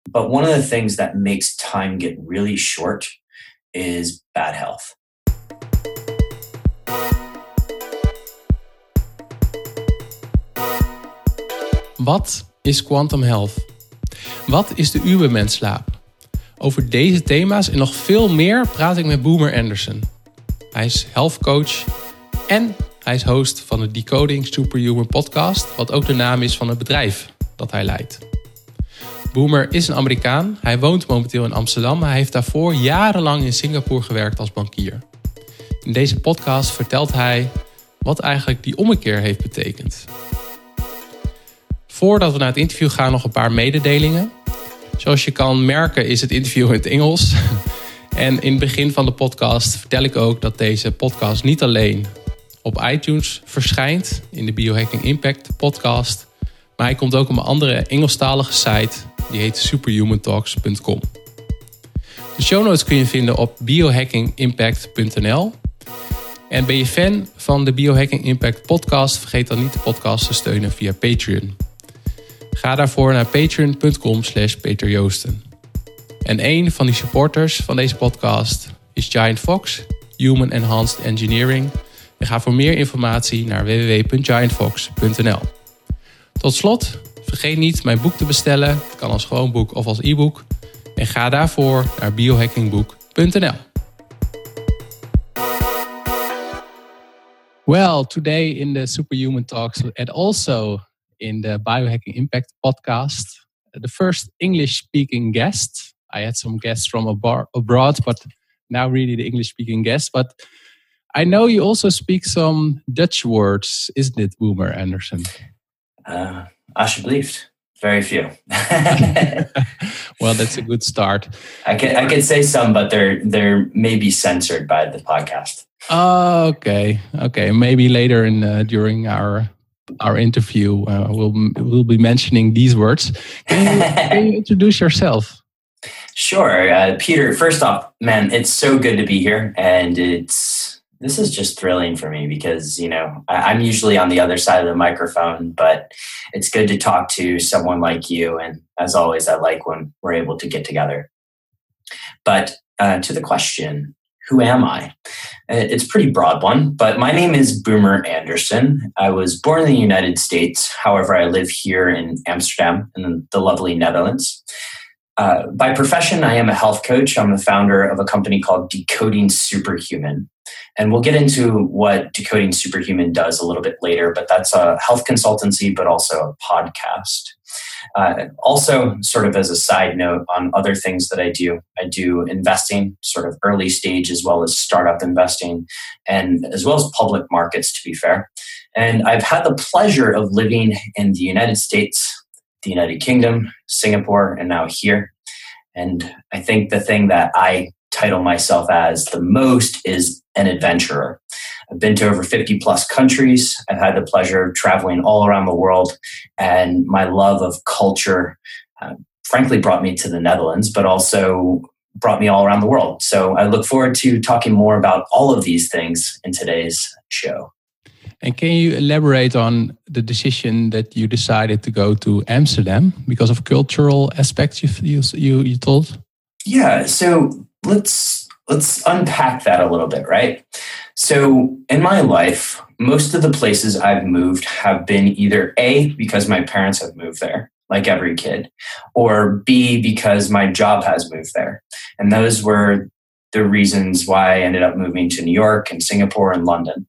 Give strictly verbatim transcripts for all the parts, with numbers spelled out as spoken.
But one of the things that makes time get really short is bad health. Wat is Quantum Health? Wat is de Ubermensch-slaap? Over deze thema's en nog veel meer praat ik met Boomer Anderson. Hij is health coach en hij is host van de Decoding Superhuman podcast, wat ook de naam is van het bedrijf dat hij leidt. Boomer is een Amerikaan. Hij woont momenteel in Amsterdam, maar hij heeft daarvoor jarenlang in Singapore gewerkt als bankier. In deze podcast vertelt hij wat eigenlijk die ommekeer heeft betekend. Voordat we naar het interview gaan, nog een paar mededelingen. Zoals je kan merken is het interview in het Engels. En in het begin van de podcast vertel ik ook dat deze podcast niet alleen op iTunes verschijnt in de Biohacking Impact podcast, maar hij komt ook op een andere Engelstalige site, die heet superhuman talks punt com. De show notes kun je vinden op biohacking impact punt n l. En ben je fan van de Biohacking Impact podcast, vergeet dan niet de podcast te steunen via Patreon. Ga daarvoor naar patreon punt com slash peter joosten. En een van die supporters van deze podcast is Giant Fox, Human Enhanced Engineering. En ga voor meer informatie naar w w w punt giant fox punt n l. Tot slot, vergeet niet mijn boek te bestellen. Het kan als gewoon boek of als e-book. En ga daarvoor naar biohackingboek punt n l. Well, today in the Superhuman Talks and also in the Biohacking Impact podcast, the first English-speaking guest. I had some guests from abo- abroad, but now really the English-speaking guest. But I know you also speak some Dutch words, isn't it, Boomer Anderson? Uh, alsjeblieft. Very few. Well, that's a good start. I can I can say some, but they're they're maybe censored by the podcast. Oh, okay, okay. Maybe later in uh, during our our interview, uh, we'll we'll be mentioning these words. Can you, can you introduce yourself? Sure, uh, Peter. First off, man, it's so good to be here, and it's this is just thrilling for me because you know I, I'm usually on the other side of the microphone, but it's good to talk to someone like you. And as always, I like when we're able to get together. But uh, to the question. Who am I? It's a pretty broad one, but my name is Boomer Anderson. I was born in the United States. However, I live here in Amsterdam in the lovely Netherlands. Uh, by profession, I am a health coach. I'm the founder of a company called Decoding Superhuman. And we'll get into what Decoding Superhuman does a little bit later, but that's a health consultancy, but also a podcast. Uh, also, sort of as a side note on other things that I do, I do investing, sort of early stage as well as startup investing, and as well as public markets, to be fair. And I've had the pleasure of living in the United States, the United Kingdom, Singapore, and now here. And I think the thing that I title myself as the most is an adventurer. I've been to over fifty plus countries. I've had the pleasure of traveling all around the world. And my love of culture, uh, frankly, brought me to the Netherlands, but also brought me all around the world. So I look forward to talking more about all of these things in today's show. And can you elaborate on the decision that you decided to go to Amsterdam because of cultural aspects you you you, you told? Yeah, so let's let's unpack that a little bit, right? So in my life, most of the places I've moved have been either A, because my parents have moved there, like every kid, or B, because my job has moved there. And those were the reasons why I ended up moving to New York and Singapore and London.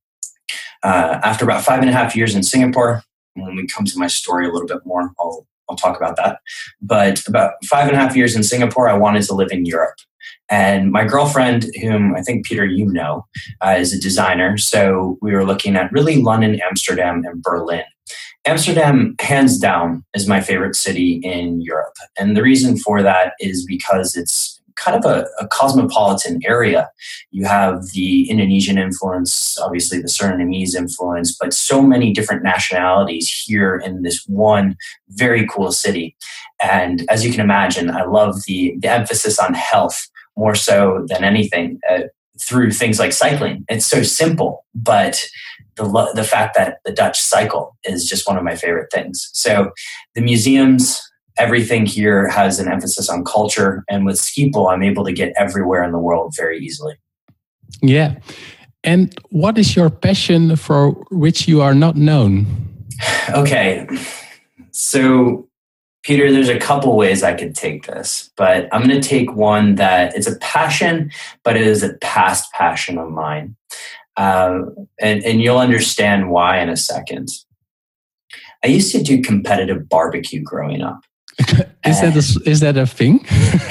Uh, after about five and a half years in Singapore, when we come to my story a little bit more, I'll I'll talk about that. But about five and a half years in Singapore, I wanted to live in Europe. And my girlfriend, whom I think, Peter, you know, uh, is a designer. So we were looking at really London, Amsterdam, and Berlin. Amsterdam, hands down, is my favorite city in Europe. And the reason for that is because it's kind of a, a cosmopolitan area. You have the Indonesian influence, obviously the Surinamese influence, but so many different nationalities here in this one very cool city. And as you can imagine, I love the, the emphasis on health more so than anything uh, through things like cycling. It's so simple, but the the fact that the Dutch cycle is just one of my favorite things. So the museums, everything here has an emphasis on culture. And with Schiphol, I'm able to get everywhere in the world very easily. Yeah. And what is your passion for which you are not known? Okay. So, Peter, there's a couple ways I could take this, but I'm going to take one that it's a passion, but it is a past passion of mine. Uh, and, and you'll understand why in a second. I used to do competitive barbecue growing up. is, that a, is that a thing?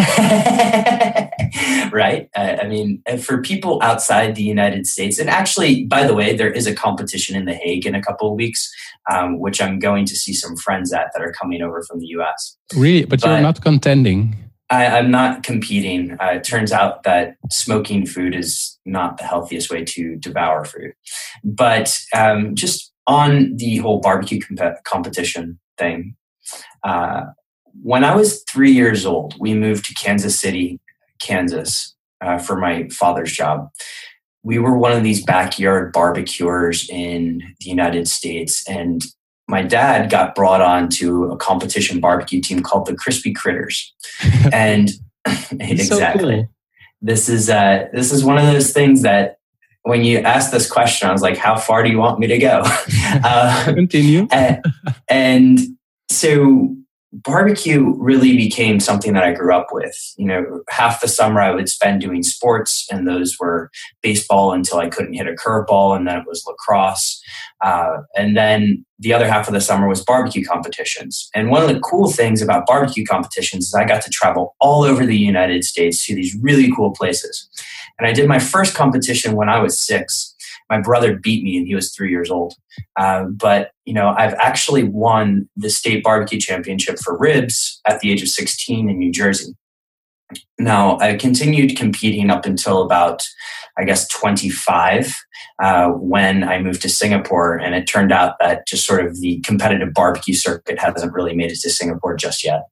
Right? Uh, I mean, for people outside the United States, and actually, by the way, there is a competition in The Hague in a couple of weeks, um, which I'm going to see some friends at that are coming over from the U S. Really? But, but you're not contending? I, I'm not competing. Uh, it turns out that smoking food is not the healthiest way to devour food. But um, just on the whole barbecue comp- competition thing, uh, when I was three years old, we moved to Kansas City, Kansas, uh, for my father's job. We were one of these backyard barbecuers in the United States, and my dad got brought on to a competition barbecue team called the Crispy Critters. And exactly, so cool. This is uh, this is one of those things that when you asked this question, I was like, "How far do you want me to go?" uh, Continue. and, and so. Barbecue really became something that I grew up with. You know, half the summer I would spend doing sports, and those were baseball until I couldn't hit a curveball, and then it was lacrosse. Uh, and then the other half of the summer was barbecue competitions. And one of the cool things about barbecue competitions is I got to travel all over the United States to these really cool places. And I did my first competition when I was six. My brother beat me and he was three years old. Uh, but, you know, I've actually won the state barbecue championship for ribs at the age of sixteen in New Jersey. Now, I continued competing up until about, I guess, twenty-five, uh, when I moved to Singapore. And it turned out that just sort of the competitive barbecue circuit hasn't really made it to Singapore just yet.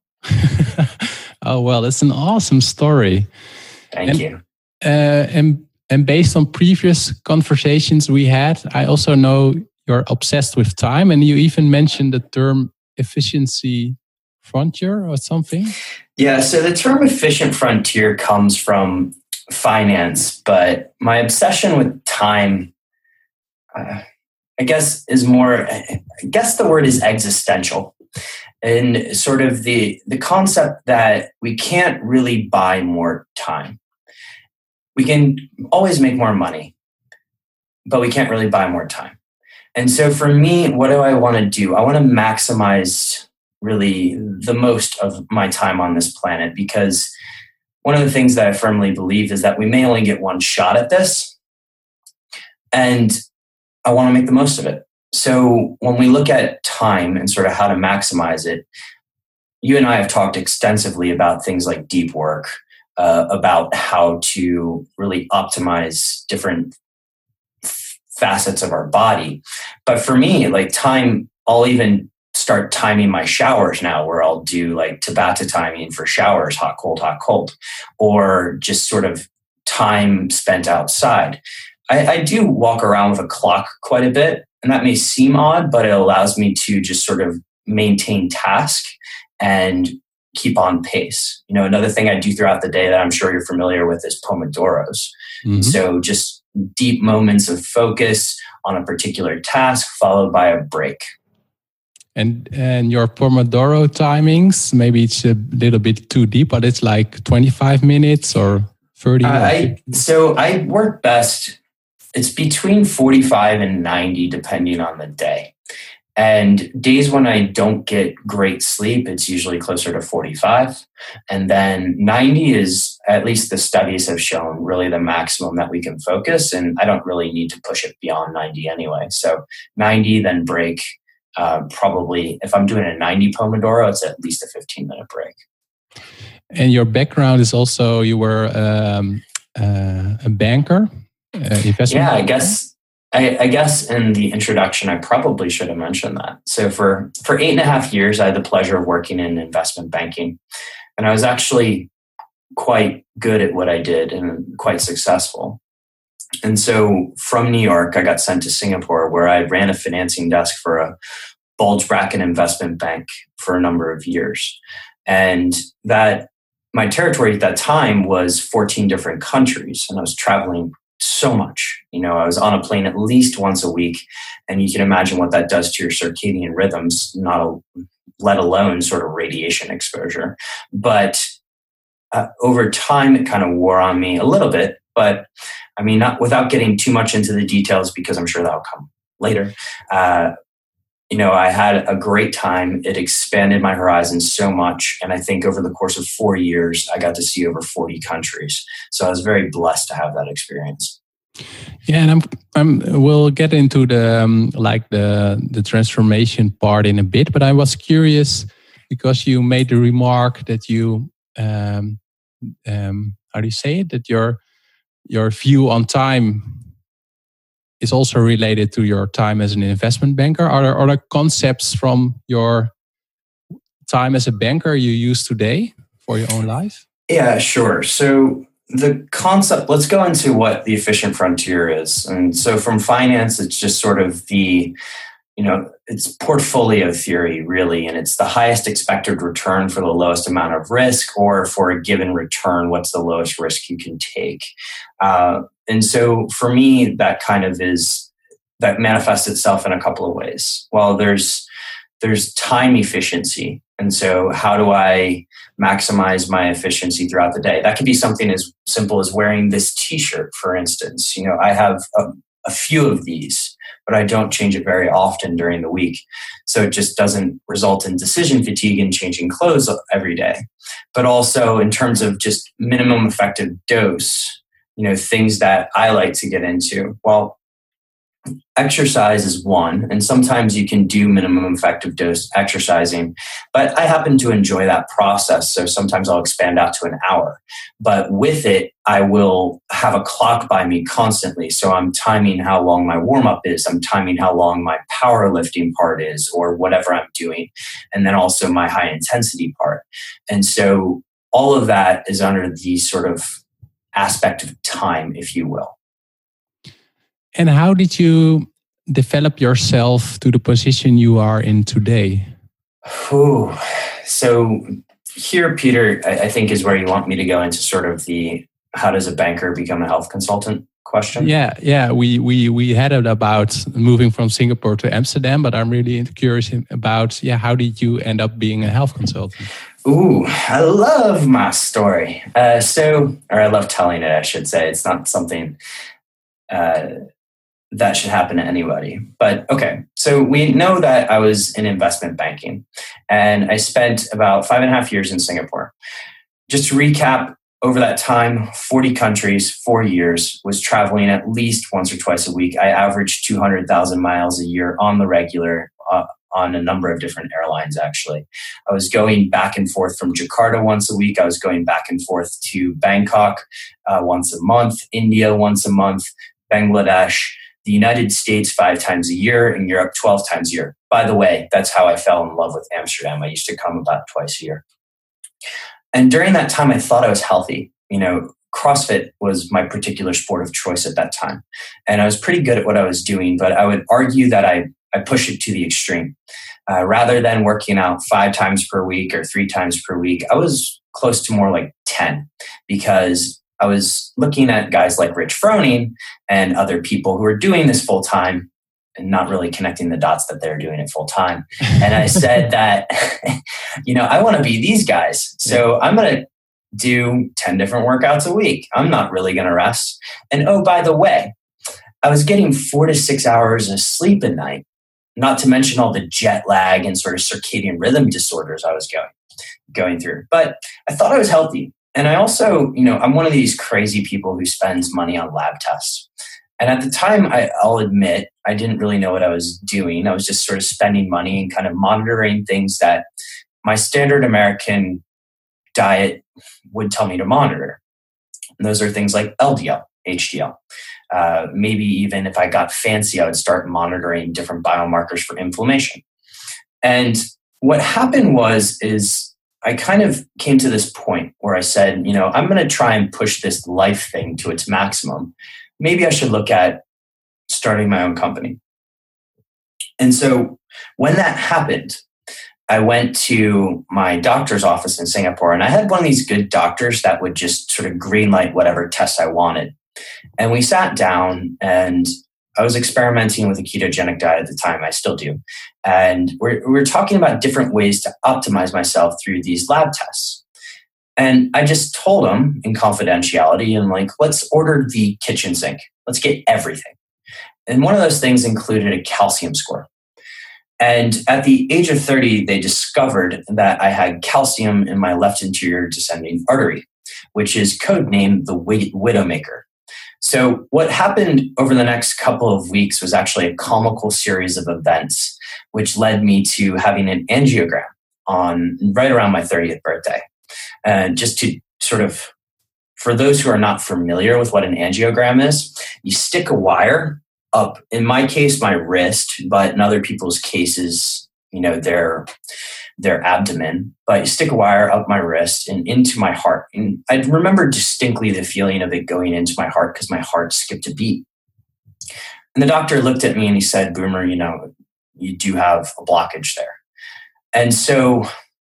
Oh, well, that's an awesome story. Thank and, you. Uh, and And based on previous conversations we had, I also know you're obsessed with time, and you even mentioned the term efficiency frontier or something. Yeah, so the term efficient frontier comes from finance, but my obsession with time, uh, I guess, is more, I guess the word is existential. And sort of the, the concept that we can't really buy more time. We can always make more money, but we can't really buy more time. And so for me, what do I want to do? I want to maximize really the most of my time on this planet, because one of the things that I firmly believe is that we may only get one shot at this, and I want to make the most of it. So when we look at time and sort of how to maximize it, you and I have talked extensively about things like deep work, Uh, about how to really optimize different f- facets of our body. But for me, like time, I'll even start timing my showers now, where I'll do like Tabata timing for showers, hot, cold, hot, cold, or just sort of time spent outside. I, I do walk around with a clock quite a bit, and that may seem odd, but it allows me to just sort of maintain task and keep on pace. You know, another thing I do throughout the day that I'm sure you're familiar with is Pomodoros. Mm-hmm. So just deep moments of focus on a particular task followed by a break. And and your Pomodoro timings, maybe it's a little bit too deep, but it's like twenty-five minutes or thirty. Uh, I, so I work best, it's between forty-five and ninety depending on the day. And days when I don't get great sleep, it's usually closer to forty-five. And then ninety is, at least the studies have shown, really the maximum that we can focus. And I don't really need to push it beyond ninety anyway. So ninety, then break. Uh, probably, if I'm doing a ninety Pomodoro, it's at least a fifteen minute break. And your background is also, you were um, uh, a banker, uh, investment Yeah, banker? I guess. I, I guess in the introduction, I probably should have mentioned that. So for, for eight and a half years, I had the pleasure of working in investment banking. And I was actually quite good at what I did and quite successful. And so from New York, I got sent to Singapore, where I ran a financing desk for a bulge bracket investment bank for a number of years. And that my territory at that time was fourteen different countries, and I was traveling so much. You know, I was on a plane at least once a week, and you can imagine what that does to your circadian rhythms, not a, let alone sort of radiation exposure. But uh, over time, it kind of wore on me a little bit. But I mean, not without getting too much into the details, because I'm sure that'll come later. Uh, you know, I had a great time. It expanded my horizons so much. And I think over the course of four years, I got to see over forty countries. So I was very blessed to have that experience. Yeah, and I'm, I'm. We'll get into the um, like the the transformation part in a bit. But I was curious because you made the remark that you, um, um, how do you say it? That your your view on time is also related to your time as an investment banker. Are there other concepts from your time as a banker you use today for your own life? Yeah, sure. So the concept, let's go into what the efficient frontier is. And so from finance, it's just sort of the, you know, it's portfolio theory really, and it's the highest expected return for the lowest amount of risk, or for a given return, what's the lowest risk you can take. Uh, and so for me, that kind of is, that manifests itself in a couple of ways. Well, there's there's time efficiency. And so how do I maximize my efficiency throughout the day? That could be something as simple as wearing this t-shirt, for instance. You know, I have a, a few of these, but I don't change it very often during the week. So it just doesn't result in decision fatigue and changing clothes every day. But also in terms of just minimum effective dose, you know, things that I like to get into. Well, exercise is one, and sometimes you can do minimum effective dose exercising, but I happen to enjoy that process. So sometimes I'll expand out to an hour, but with it, I will have a clock by me constantly. So I'm timing how long my warm up is. I'm timing how long my powerlifting part is, or whatever I'm doing. And then also my high intensity part. And so all of that is under the sort of aspect of time, if you will. And how did you develop yourself to the position you are in today? Ooh. So here, Peter, I think is where you want me to go into sort of the how does a banker become a health consultant question? Yeah, yeah. We we we had it about moving from Singapore to Amsterdam, but I'm really curious about yeah, how did you end up being a health consultant? Ooh, I love my story. Uh, so, or I love telling it, I should say. It's not something uh, that should happen to anybody. But okay, so we know that I was in investment banking, and I spent about five and a half years in Singapore. Just to recap, over that time, forty countries, four years, was traveling at least once or twice a week. I averaged two hundred thousand miles a year on the regular, uh, on a number of different airlines, actually. I was going back and forth from Jakarta once a week. I was going back and forth to Bangkok uh, once a month, India once a month, Bangladesh, the United States five times a year, and Europe twelve times a year. By the way, that's how I fell in love with Amsterdam. I used to come about twice a year. And during that time, I thought I was healthy. You know, CrossFit was my particular sport of choice at that time. And I was pretty good at what I was doing, but I would argue that I, I pushed it to the extreme. Uh, rather than working out five times per week or three times per week, I was close to more like ten, because I was looking at guys like Rich Froning and other people who are doing this full time and not really connecting the dots that they're doing it full time. And I said that, you know, I want to be these guys. So I'm going to do ten different workouts a week. I'm not really going to rest. And oh, by the way, I was getting four to six hours of sleep a night, not to mention all the jet lag and sort of circadian rhythm disorders I was going, going through. But I thought I was healthy. And I also, you know, I'm one of these crazy people who spends money on lab tests. And at the time, I, I'll admit, I didn't really know what I was doing. I was just sort of spending money and kind of monitoring things that my standard American diet would tell me to monitor. And those are things like L D L, H D L. Uh, maybe even if I got fancy, I would start monitoring different biomarkers for inflammation. And what happened was, is I kind of came to this point where I said, you know, I'm going to try and push this life thing to its maximum. Maybe I should look at starting my own company. And so When that happened, I went to my doctor's office in Singapore, and I had one of these good doctors that would just sort of greenlight whatever test I wanted. And we sat down, and I was experimenting with a ketogenic diet at the time. I still do. And we're, we're talking about different ways to optimize myself through these lab tests. And I just told him in confidentiality, and like, let's order the kitchen sink. Let's get everything. And one of those things included a calcium score. And at the age of thirty, they discovered that I had calcium in my left anterior descending artery, which is codenamed the Widowmaker. So what happened over the next couple of weeks was actually a comical series of events, which led me to having an angiogram on right around my thirtieth birthday. And just to sort of, for those who are not familiar with what an angiogram is, you stick a wire up, in my case, my wrist, but in other people's cases, you know, their their abdomen. But you stick a wire up my wrist and into my heart. And I remember distinctly the feeling of it going into my heart because my heart skipped a beat. And the doctor looked at me and he said, Boomer, you know, you do have a blockage there. And so,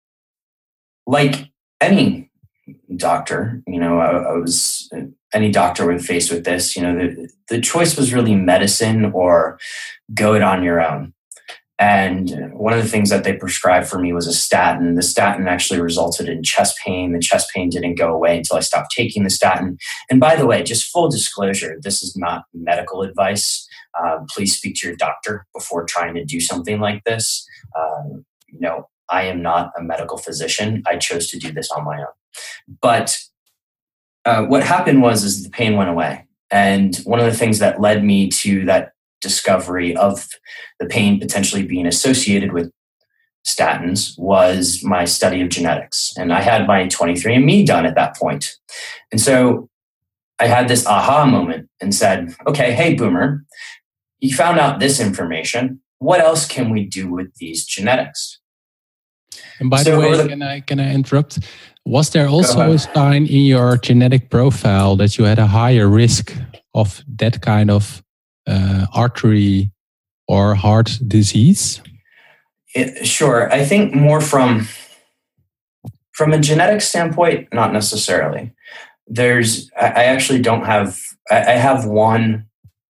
like any doctor, you know, I, I was... any doctor would face with this, you know, the, the choice was really medicine or go it on your own. And one of the things that they prescribed for me was a statin. The statin actually resulted in chest pain. The chest pain didn't go away until I stopped taking the statin. And by the way, just full disclosure, this is not medical advice. Uh, please speak to your doctor before trying to do something like this. Uh, you know, I am not a medical physician. I chose to do this on my own. But Uh, what happened was is the pain went away. And one of the things that led me to that discovery of the pain potentially being associated with statins was my study of genetics. And I had my twenty-three and me done at that point. And so I had this aha moment and said, okay, hey, Boomer, you found out this information. What else can we do with these genetics? And by so the way, the, can I can I interrupt? Was there also a sign in your genetic profile that you had a higher risk of that kind of uh, artery or heart disease? It, sure. I think more from from a genetic standpoint, not necessarily. There's, I actually don't have, I have one,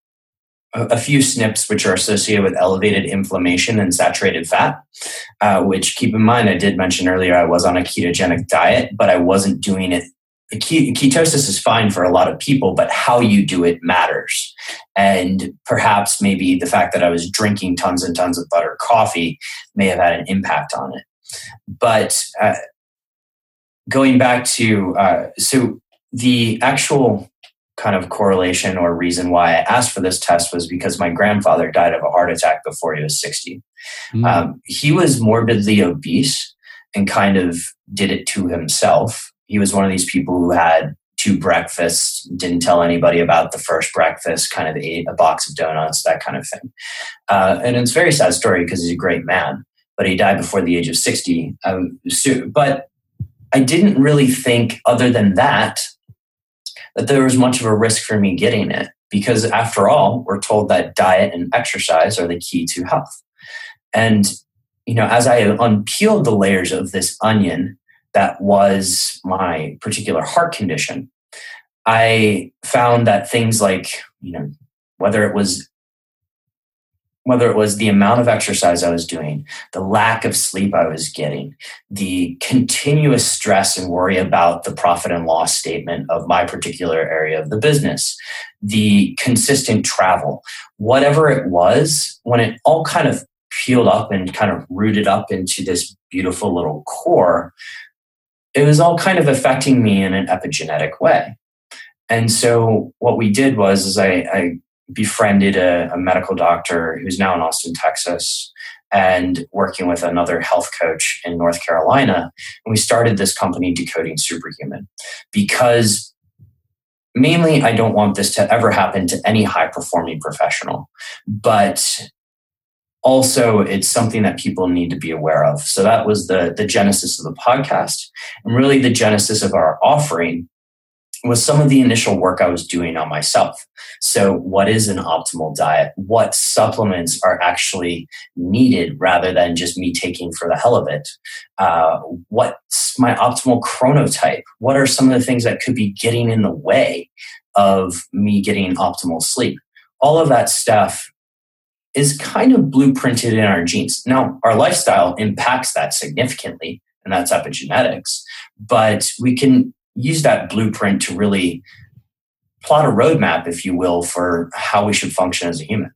a few S N Ps which are associated with elevated inflammation and saturated fat, uh, which keep in mind, I did mention earlier, I was on a ketogenic diet, but I wasn't doing it. Ketosis is fine for a lot of people, but how you do it matters. And perhaps maybe the fact that I was drinking tons and tons of buttered coffee may have had an impact on it. But uh, going back to, uh, so the actual kind of correlation or reason why I asked for this test was because my grandfather died of a heart attack before he was sixty. Mm. Um, he was morbidly obese and kind of did it to himself. He was one of these people who had two breakfasts, didn't tell anybody about the first breakfast, kind of ate a box of donuts, that kind of thing. Uh, and it's a very sad story because he's a great man, but he died before the age of sixty. Um, so, but I didn't really think, other than that, that there was much of a risk for me getting it, because after all, we're told that diet and exercise are the key to health. And, you know, as I unpeeled the layers of this onion that was my particular heart condition, I found that things like, you know, whether it was whether it was the amount of exercise I was doing, the lack of sleep I was getting, the continuous stress and worry about the profit and loss statement of my particular area of the business, the consistent travel, whatever it was, when it all kind of peeled up and kind of rooted up into this beautiful little core, it was all kind of affecting me in an epigenetic way. And so what we did was is I, I befriended a, a medical doctor who's now in Austin, Texas, and working with another health coach in North Carolina. And we started this company, Decoding Superhuman, because mainly I don't want this to ever happen to any high-performing professional, but also it's something that people need to be aware of. So that was the, the genesis of the podcast, and really the genesis of our offering was some of the initial work I was doing on myself. So what is an optimal diet? What supplements are actually needed rather than just me taking for the hell of it? Uh, what's my optimal chronotype? What are some of the things that could be getting in the way of me getting optimal sleep? All of that stuff is kind of blueprinted in our genes. Now, our lifestyle impacts that significantly, and that's epigenetics, but we can use that blueprint to really plot a roadmap, if you will, for how we should function as a human.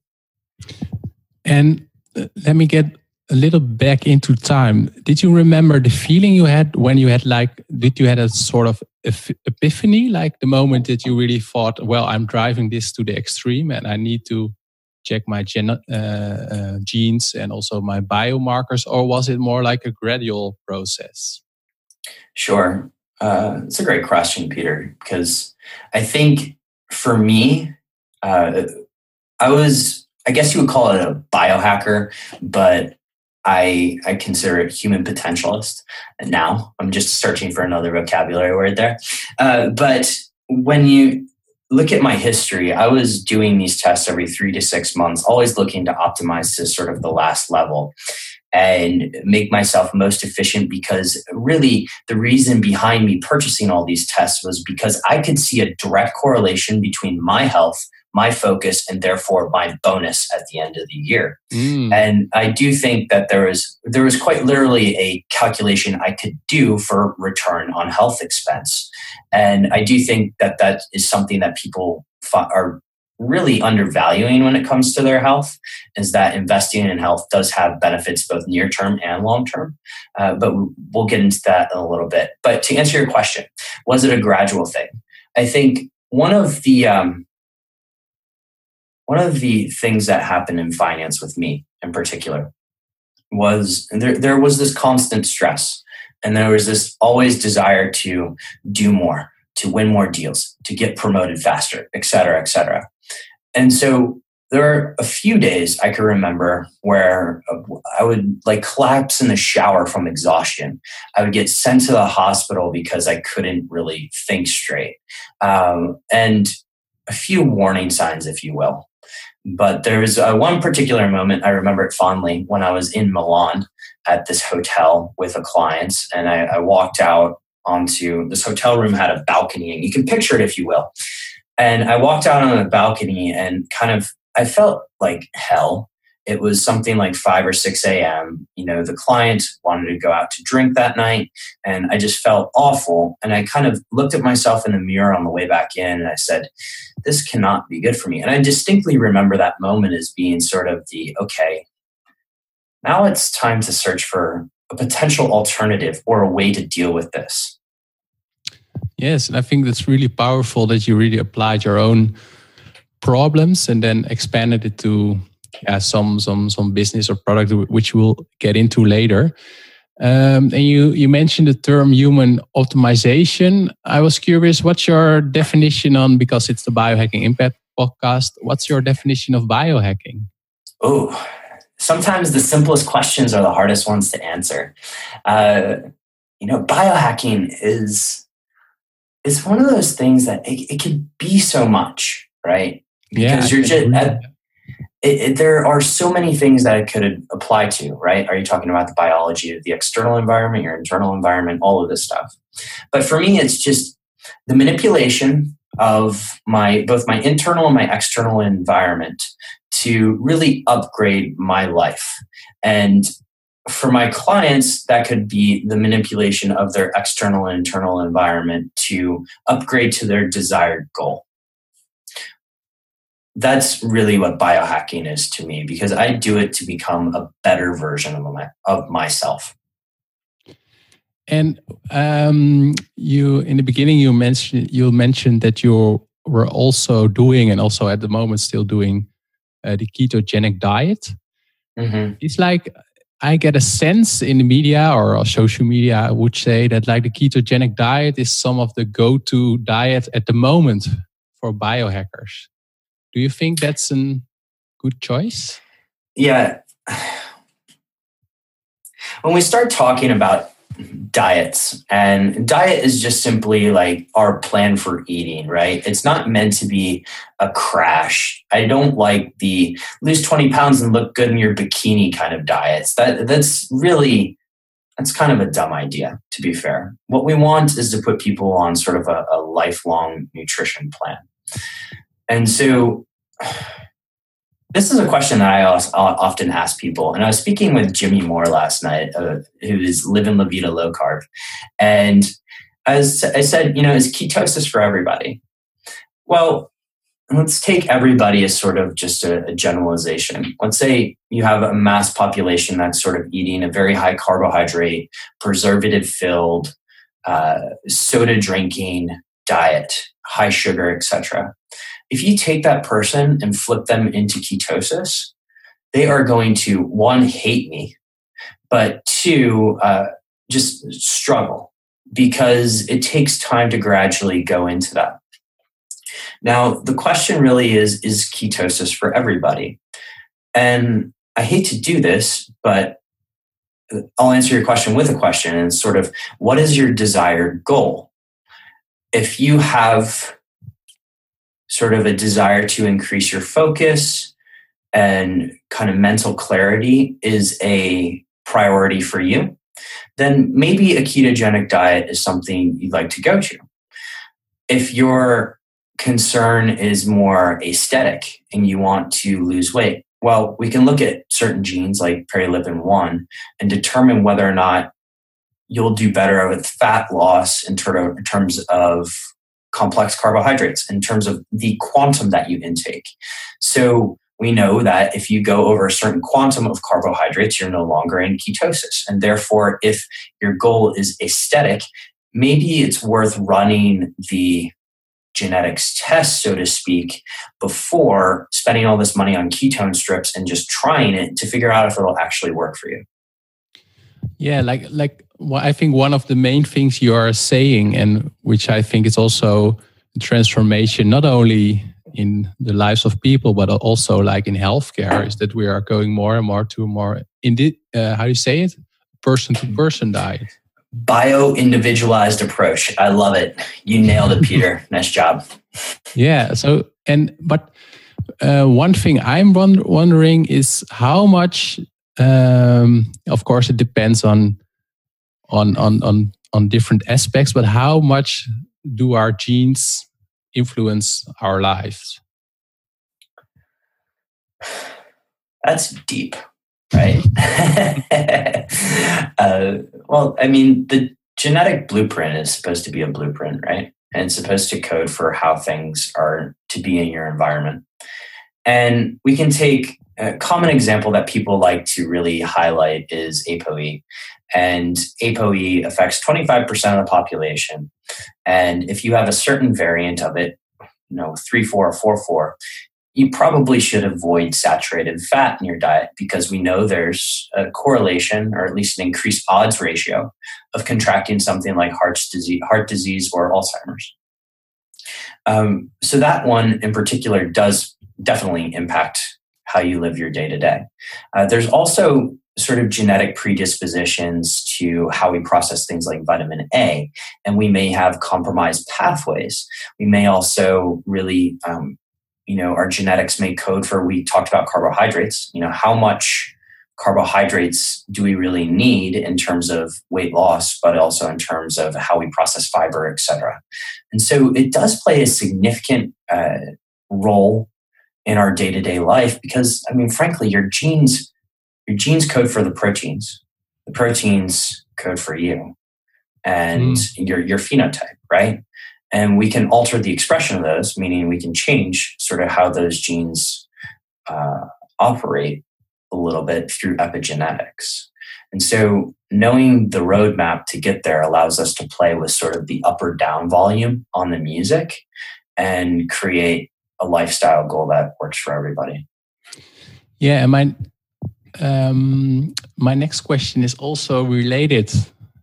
And uh, let me get a little back into time. Did you remember the feeling you had when you had like, did you had a sort of epiphany, like the moment that you really thought, well, I'm driving this to the extreme and I need to check my gen- uh, uh, genes and also my biomarkers, or was it more like a gradual process? Sure. Uh, it's a great question, Peter, because I think for me, uh, I was, I guess you would call it a biohacker, but I I consider it human potentialist. And now I'm just searching for another vocabulary word there. Uh, but when you look at my history, I was doing these tests every three to six months, always looking to optimize to sort of the last level and make myself most efficient, because really the reason behind me purchasing all these tests was because I could see a direct correlation between my health, my focus, and therefore my bonus at the end of the year. Mm. And I do think that there was there was quite literally a calculation I could do for return on health expense. And I do think that that is something that people are really undervaluing when it comes to their health, is that investing in health does have benefits both near term and long term. Uh, but we'll get into that in a little bit. But to answer your question, was it a gradual thing? I think one of the um, one of the things that happened in finance with me in particular was there, there was this constant stress, and there was this always desire to do more, to win more deals, to get promoted faster, et cetera, et cetera. And so there are a few days I can remember where I would like collapse in the shower from exhaustion. I would get sent to the hospital because I couldn't really think straight. Um, and a few warning signs, if you will. But there was uh, one particular moment, I remember it fondly, when I was in Milan at this hotel with a client, and I, I walked out onto this hotel room, had a balcony, and you can picture it, if you will. And I walked out on the balcony and kind of, I felt like hell. It was something like five or six a.m. You know, the client wanted to go out to drink that night, and I just felt awful. And I kind of looked at myself in the mirror on the way back in, and I said, this cannot be good for me. And I distinctly remember that moment as being sort of the, okay, now it's time to search for a potential alternative or a way to deal with this. Yes, and I think that's really powerful that you really applied your own problems and then expanded it to yeah, some some some business or product, which we'll get into later. Um, and you you mentioned the term human optimization. I was curious, what's your definition on, because it's the Biohacking Impact podcast, what's your definition of biohacking? Oh, sometimes the simplest questions are the hardest ones to answer. Uh, you know, biohacking is is one of those things that it, it can be so much, right? Because yeah, you're just at, it, it, there are so many things that it could apply to, right? Are you talking about the biology of the external environment, your internal environment, all of this stuff? But for me, it's just the manipulation of my both my internal and my external environment to really upgrade my life. And for my clients, that could be the manipulation of their external and internal environment to upgrade to their desired goal. That's really what biohacking is to me, because I do it to become a better version of my, of myself. And um, you, in the beginning, you mentioned you mentioned that you were also doing, and also at the moment still doing, uh, the ketogenic diet. Mm-hmm. It's like I get a sense in the media or social media, I would say that like the ketogenic diet is some of the go-to diet at the moment for biohackers. Do you think that's a good choice? Yeah. When we start talking about diets. And diet is just simply like our plan for eating, right? It's not meant to be a crash. I don't like the lose twenty pounds and look good in your bikini kind of diets. That that's really, that's kind of a dumb idea, to be fair. What we want is to put people on sort of a, a lifelong nutrition plan. And so this is a question that I often ask people. And I was speaking with Jimmy Moore last night, uh, who is Living La Vida Low Carb. And as I said, you know, is ketosis for everybody? Well, let's take everybody as sort of just a, a generalization. Let's say you have a mass population that's sort of eating a very high carbohydrate, preservative filled, uh, soda drinking diet, high sugar, et cetera. If you take that person and flip them into ketosis, they are going to, one, hate me, but two, uh, just struggle because it takes time to gradually go into that. Now, the question really is, is ketosis for everybody? And I hate to do this, but I'll answer your question with a question, and sort of, what is your desired goal? If you have sort of a desire to increase your focus and kind of mental clarity is a priority for you, then maybe a ketogenic diet is something you'd like to go to. If your concern is more aesthetic and you want to lose weight, well, we can look at certain genes like perilipin one and determine whether or not you'll do better with fat loss in, ter- in terms of complex carbohydrates, in terms of the quantum that you intake. So we know that if you go over a certain quantum of carbohydrates, you're no longer in ketosis. And therefore, if your goal is aesthetic, maybe it's worth running the genetics test, so to speak, before spending all this money on ketone strips and just trying it to figure out if it'll actually work for you. Yeah, like like well, I think one of the main things you are saying, and which I think is also a transformation, not only in the lives of people, but also like in healthcare, is that we are going more and more to a more, indi- uh, how do you say it? Person-to-person diet. Bio-individualized approach. I love it. You nailed it, Peter. Nice job. Yeah. So, and, but uh, one thing I'm wonder- wondering is how much, um, of course, it depends on, on, on, on, on different aspects, but how much do our genes influence our lives? That's deep, right? uh, well, I mean, the genetic blueprint is supposed to be a blueprint, right? And it's supposed to code for how things are to be in your environment. And we can take a common example that people like to really highlight is ApoE. And ApoE affects twenty-five percent of the population. And if you have a certain variant of it, you know, three four or four four, you probably should avoid saturated fat in your diet because we know there's a correlation, or at least an increased odds ratio, of contracting something like heart disease, heart disease or Alzheimer's. Um, so that one in particular does definitely impact how you live your day to day. There's also sort of genetic predispositions to how we process things like vitamin A, and we may have compromised pathways. We may also really, um, you know, our genetics may code for, we talked about carbohydrates, you know, how much carbohydrates do we really need in terms of weight loss, but also in terms of how we process fiber, et cetera. And so it does play a significant uh, role in our day-to-day life because, I mean, frankly, your genes, your genes code for the proteins. The proteins code for you and mm. your, your phenotype, right? And we can alter the expression of those, meaning we can change sort of how those genes uh, operate a little bit through epigenetics. And so knowing the roadmap to get there allows us to play with sort of the up or down volume on the music and create a lifestyle goal that works for everybody. Yeah, and my um, my next question is also related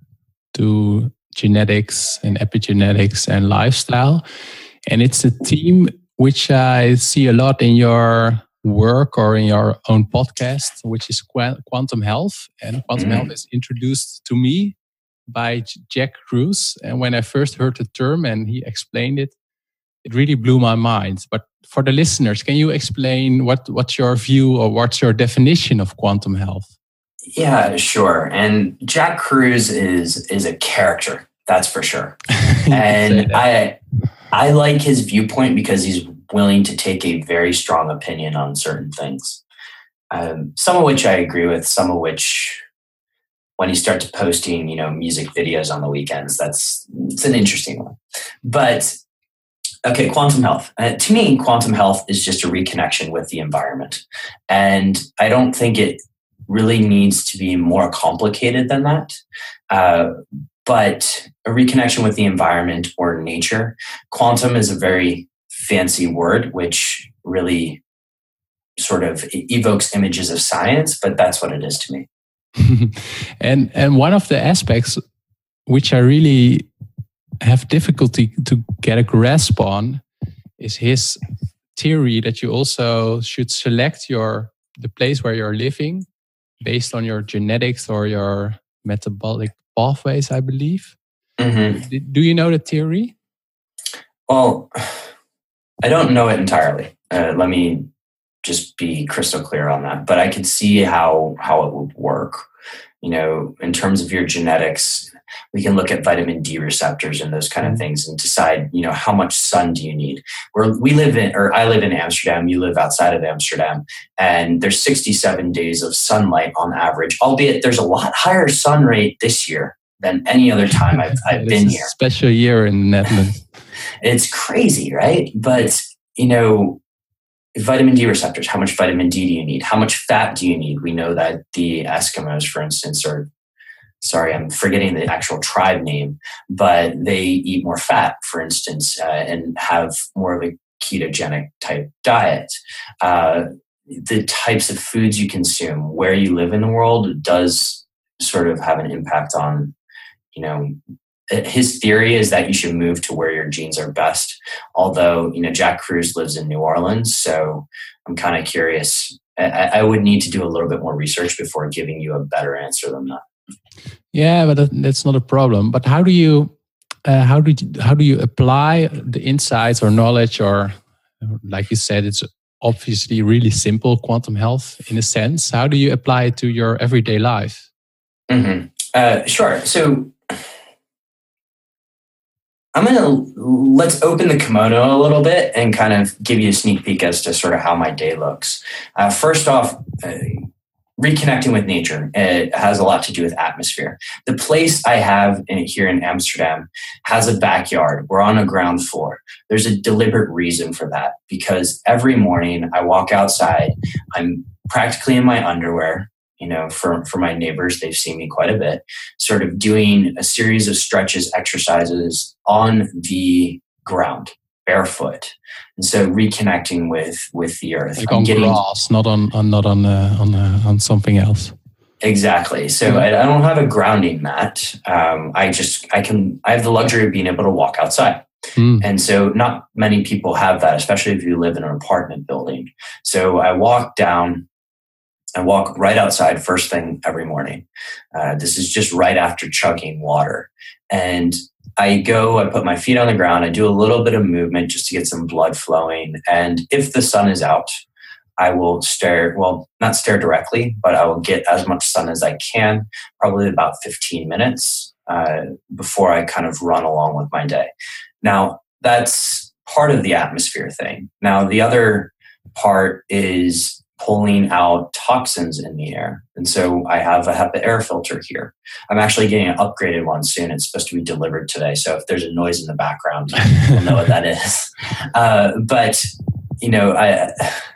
to genetics and epigenetics and lifestyle, and it's a theme which I see a lot in your work or in your own podcast, which is qu- quantum health. And quantum mm. health is introduced to me by J- Jack Kruse. And when I first heard the term and he explained it, it really blew my mind. But for the listeners, can you explain what, what's your view or what's your definition of quantum health? Yeah, sure. And Jack Kruse is is a character, that's for sure. And I I like his viewpoint because he's willing to take a very strong opinion on certain things. Um, some of which I agree with, some of which, when he starts posting, you know, music videos on the weekends, that's it's an interesting one. But okay, quantum health. Uh, to me, quantum health is just a reconnection with the environment, and I don't think it really needs to be more complicated than that. Uh, but a reconnection with the environment or nature. Quantum is a very fancy word, which really sort of evokes images of science, but that's what it is to me. and and one of the aspects which I really have difficulty to get a grasp on is his theory that you also should select your the place where you're living based on your genetics or your metabolic pathways, I believe. Mm-hmm. Do you know the theory? Well, I don't know it entirely. Uh, let me just be crystal clear on that. But I could see how how it would work. You know, in terms of your genetics, we can look at vitamin D receptors and those kind of things and decide, you know, how much sun do you need? Where we live in, or I live in Amsterdam, you live outside of Amsterdam, and there's sixty-seven days of sunlight on average, albeit there's a lot higher sun rate this year than any other time I've, I've been here. Special year in the Netherlands. It's crazy, right? But, you know, vitamin D receptors, how much vitamin D do you need? How much fat do you need? We know that the Eskimos, for instance, are, sorry, I'm forgetting the actual tribe name, but they eat more fat, for instance, uh, and have more of a ketogenic type diet. Uh, the types of foods you consume, where you live in the world, does sort of have an impact on, you know, his theory is that you should move to where your genes are best. Although, you know, Jack Kruse lives in New Orleans, so I'm kind of curious. I, I would need to do a little bit more research before giving you a better answer than that. Yeah, but that, that's not a problem. But how do you, uh, how do you, how do you apply the insights or knowledge, or like you said, it's obviously really simple quantum health in a sense. How do you apply it to your everyday life? Mm-hmm. Uh, sure. So I'm going to, let's open the kimono a little bit and kind of give you a sneak peek as to sort of how my day looks. Uh, first off, uh, reconnecting with nature, it has a lot to do with atmosphere. The place I have in, here in Amsterdam has a backyard. We're on a ground floor. There's a deliberate reason for that, because every morning I walk outside, I'm practically in my underwear. You know, for, for my neighbors, they've seen me quite a bit, sort of doing a series of stretches, exercises on the ground, barefoot. And so reconnecting with, with the earth. Like on getting, grass, not on, on not on uh, on uh, on something else. Exactly. So yeah. I, I don't have a grounding mat. Um, I just, I can, I have the luxury of being able to walk outside. Mm. And so not many people have that, especially if you live in an apartment building. So I walk down, I walk right outside first thing every morning. Uh, this is just right after chugging water. And I go, I put my feet on the ground. I do a little bit of movement just to get some blood flowing. And if the sun is out, I will stare, well, not stare directly, but I will get as much sun as I can, probably about fifteen minutes uh, before I kind of run along with my day. Now, that's part of the atmosphere thing. Now, the other part is pulling out toxins in the air. And so I have a HEPA air filter here. I'm actually getting an upgraded one soon. It's supposed to be delivered today. So if there's a noise in the background, you'll know what that is. Uh, but, you know, I,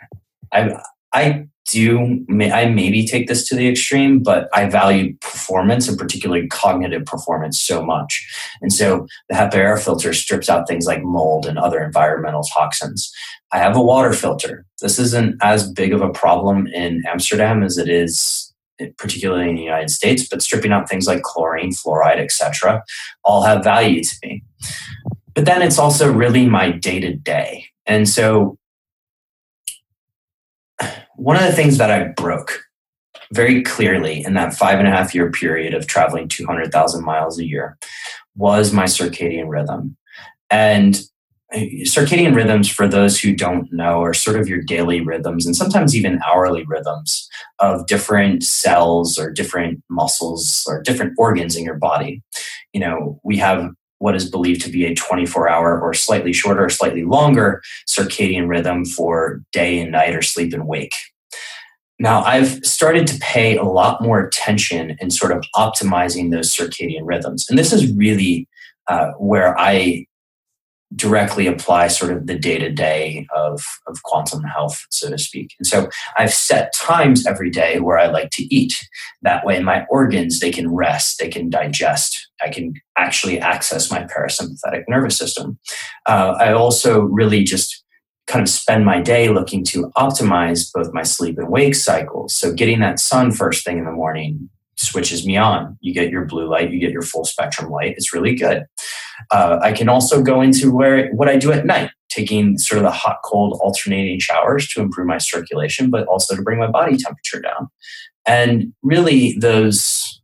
I, I do, I maybe take this to the extreme, but I value performance and particularly cognitive performance so much. And so the HEPA air filter strips out things like mold and other environmental toxins. I have a water filter. This isn't as big of a problem in Amsterdam as it is, particularly in the United States, but stripping out things like chlorine, fluoride, et cetera, all have value to me. But then it's also really my day-to-day. And so one of the things that I broke very clearly in that five and a half year period of traveling two hundred thousand miles a year was my circadian rhythm. And circadian rhythms, for those who don't know, are sort of your daily rhythms and sometimes even hourly rhythms of different cells or different muscles or different organs in your body. You know, we have what is believed to be a twenty-four hour or slightly shorter or slightly longer circadian rhythm for day and night or sleep and wake. Now, I've started to pay a lot more attention in sort of optimizing those circadian rhythms. And this is really uh, where I directly apply sort of the day-to-day of, of quantum health, so to speak. And so I've set times every day where I like to eat. That way my organs, they can rest, they can digest. I can actually access my parasympathetic nervous system. Uh, I also really just kind of spend my day looking to optimize both my sleep and wake cycles. So getting that sun first thing in the morning switches me on. You get your blue light, you get your full spectrum light. It's really good. Uh, I can also go into where what I do at night, taking sort of the hot, cold alternating showers to improve my circulation, but also to bring my body temperature down. And really those,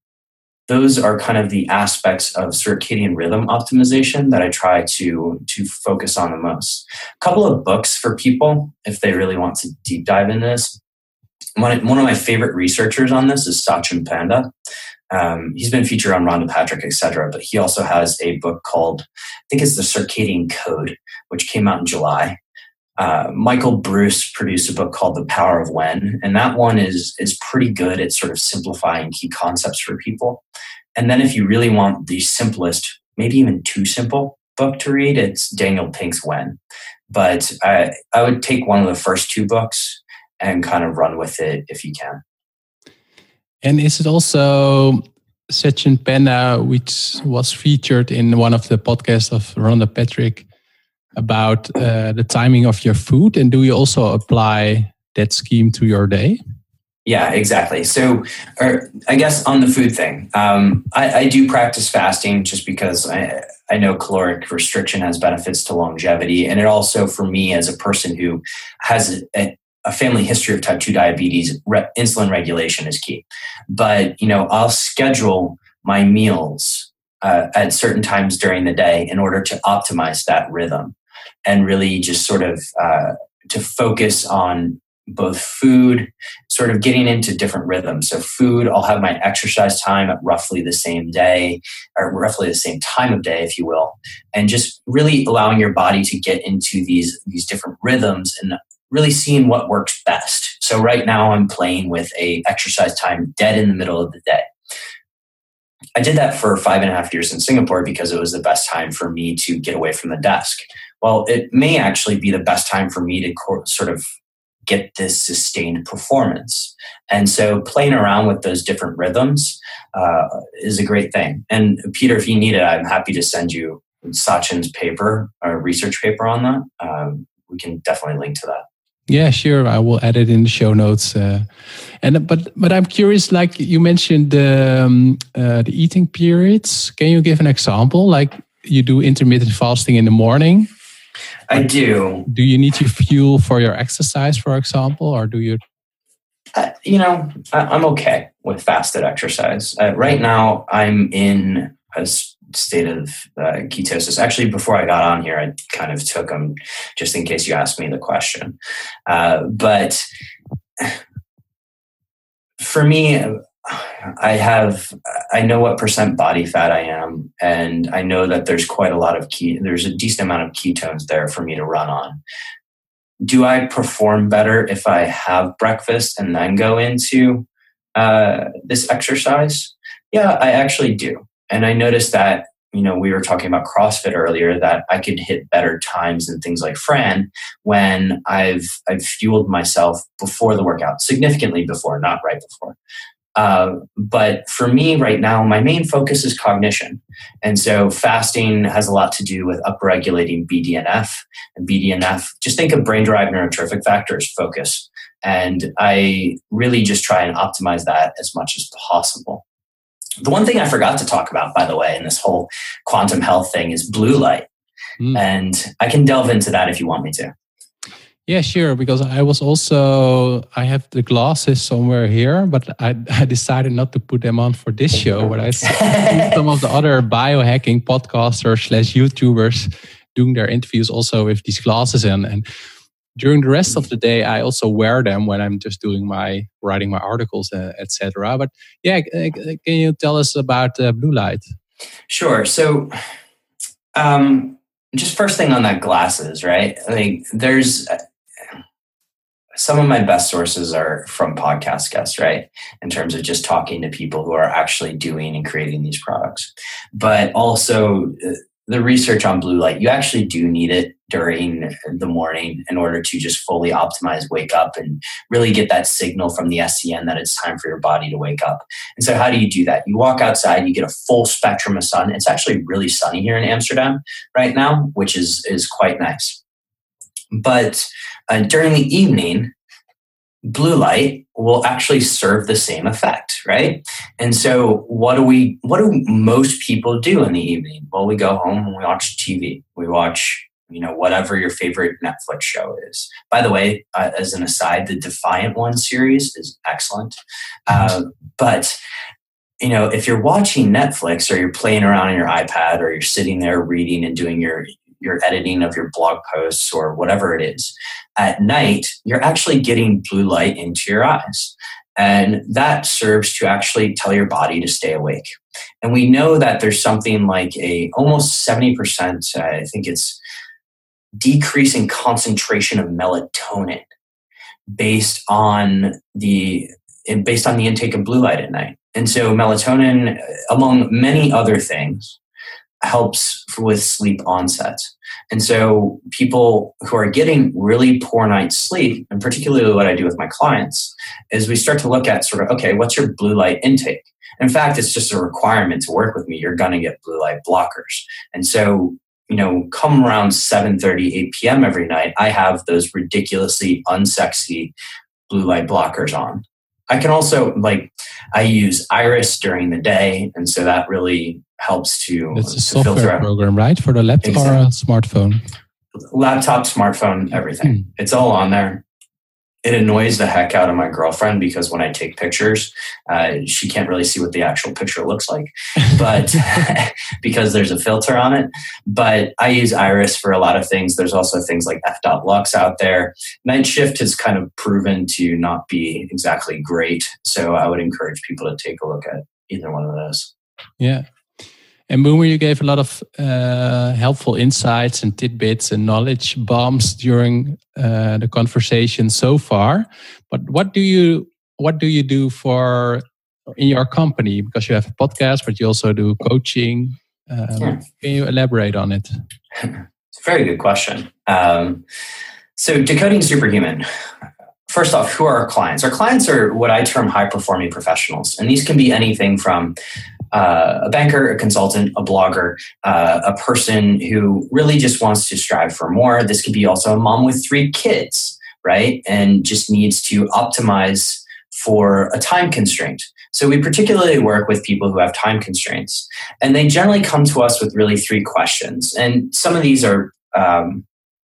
those are kind of the aspects of circadian rhythm optimization that I try to, to focus on the most. A couple of books for people, if they really want to deep dive into this. One, one of my favorite researchers on this is Sachin Panda. Um, he's been featured on Rhonda Patrick, et cetera, but he also has a book called, I think it's The Circadian Code, which came out in July. Uh, Michael Bruce produced a book called The Power of When, and that one is, is pretty good at sort of simplifying key concepts for people. And then if you really want the simplest, maybe even too simple book to read, it's Daniel Pink's When. But I, I would take one of the first two books and kind of run with it if you can. And is it also Sachin Panda, which was featured in one of the podcasts of Rhonda Patrick, about uh, the timing of your food? And do you also apply that scheme to your day? Yeah, exactly. So or I guess on the food thing, um, I, I do practice fasting just because I, I know caloric restriction has benefits to longevity. And it also, for me as a person who has a, a family history of type two diabetes, re- insulin regulation is key. But, you know, I'll schedule my meals uh, at certain times during the day in order to optimize that rhythm and really just sort of uh, to focus on both food, sort of getting into different rhythms. So food, I'll have my exercise time at roughly the same day, or roughly the same time of day, if you will, and just really allowing your body to get into these, these different rhythms and really seeing what works best. So right now I'm playing with a exercise time dead in the middle of the day. I did that for five and a half years in Singapore because it was the best time for me to get away from the desk. Well, it may actually be the best time for me to co- sort of get this sustained performance. And so playing around with those different rhythms uh, is a great thing. And Peter, if you need it, I'm happy to send you Sachin's paper, or research paper on that. Um, we can definitely link to that. Yeah, sure. I will add it in the show notes. Uh, and but but I'm curious. Like you mentioned the um, uh, the eating periods. Can you give an example? Like you do intermittent fasting in the morning. I do. Do you need your fuel for your exercise, for example, or do you? Uh, you know, I, I'm okay with fasted exercise. Uh, right now, I'm in a state of uh, ketosis. Actually, before I got on here, I kind of took them just in case you asked me the question. Uh, but for me, I have, I know what percent body fat I am, and I know that there's quite a lot of key, there's a decent amount of ketones there for me to run on. Do I perform better if I have breakfast and then go into uh, this exercise? Yeah, I actually do. And I noticed that, you know, we were talking about CrossFit earlier, that I could hit better times and things like Fran when I've I've fueled myself before the workout, significantly before, not right before. Uh, but for me right now, my main focus is cognition. And so fasting has a lot to do with upregulating B D N F. And B D N F, just think of brain-derived neurotrophic factors, focus. And I really just try and optimize that as much as possible. The one thing I forgot to talk about, by the way, in this whole quantum health thing is blue light. Mm. And I can delve into that if you want me to. Yeah, sure. Because I was also, I have the glasses somewhere here, but I, I decided not to put them on for this show. But I see some of the other biohacking podcasters slash YouTubers doing their interviews also with these glasses in. And during the rest of the day, I also wear them when I'm just doing my, writing my articles, uh, et cetera. But yeah, can you tell us about uh, blue light? Sure. So, um, just first thing on that glasses, right? Like there's some of my best sources are from podcast guests, right? In terms of just talking to people who are actually doing and creating these products. But also the research on blue light, you actually do need it during the morning in order to just fully optimize wake up and really get that signal from the S C N that it's time for your body to wake up. And so how do you do that? You walk outside, you get a full spectrum of sun. It's actually really sunny here in Amsterdam right now, which is, is quite nice. But uh, during the evening, blue light will actually serve the same effect, right? And so what do we, what do most people do in the evening? Well, we go home and we watch T V. We watch, you know, whatever your favorite Netflix show is. By the way, uh, as an aside, the Defiant One series is excellent. Uh, but, you know, if you're watching Netflix or you're playing around on your iPad or you're sitting there reading and doing your your editing of your blog posts or whatever it is, at night, you're actually getting blue light into your eyes. And that serves to actually tell your body to stay awake. And we know that there's something like a almost seventy percent, uh, I think it's decrease in concentration of melatonin based on the based on the intake of blue light at night. And so melatonin, among many other things, helps with sleep onset. And so people who are getting really poor night's sleep, and particularly what I do with my clients, is we start to look at sort of, okay, what's your blue light intake? In fact, it's just a requirement to work with me. You're going to get blue light blockers. And so, you know, come around seven thirty, eight p.m. every night, I have those ridiculously unsexy blue light blockers on. I can also, like, I use Iris during the day, and so that really helps to It's a to software filter out. program, right? For the laptop Exactly. or a smartphone? Laptop, smartphone, everything. Hmm. It's all on there. It annoys the heck out of my girlfriend because when I take pictures, uh, she can't really see what the actual picture looks like, but because there's a filter on it. But I use Iris for a lot of things. There's also things like F dot Lux out there. Night Shift has kind of proven to not be exactly great. So I would encourage people to take a look at either one of those. Yeah. And Boomer, you gave a lot of uh, helpful insights and tidbits and knowledge bombs during uh, the conversation so far. But what do you what do you do for in your company? Because you have a podcast, but you also do coaching. Um, yeah. Can you elaborate on it? It's a very good question. Um, so Decoding Superhuman. First off, who are our clients? Our clients are what I term high-performing professionals. And these can be anything from uh, a banker, a consultant, a blogger, uh, a person who really just wants to strive for more. This could be also a mom with three kids, right? And just needs to optimize for a time constraint. So we particularly work with people who have time constraints. And they generally come to us with really three questions. And some of these are... Um,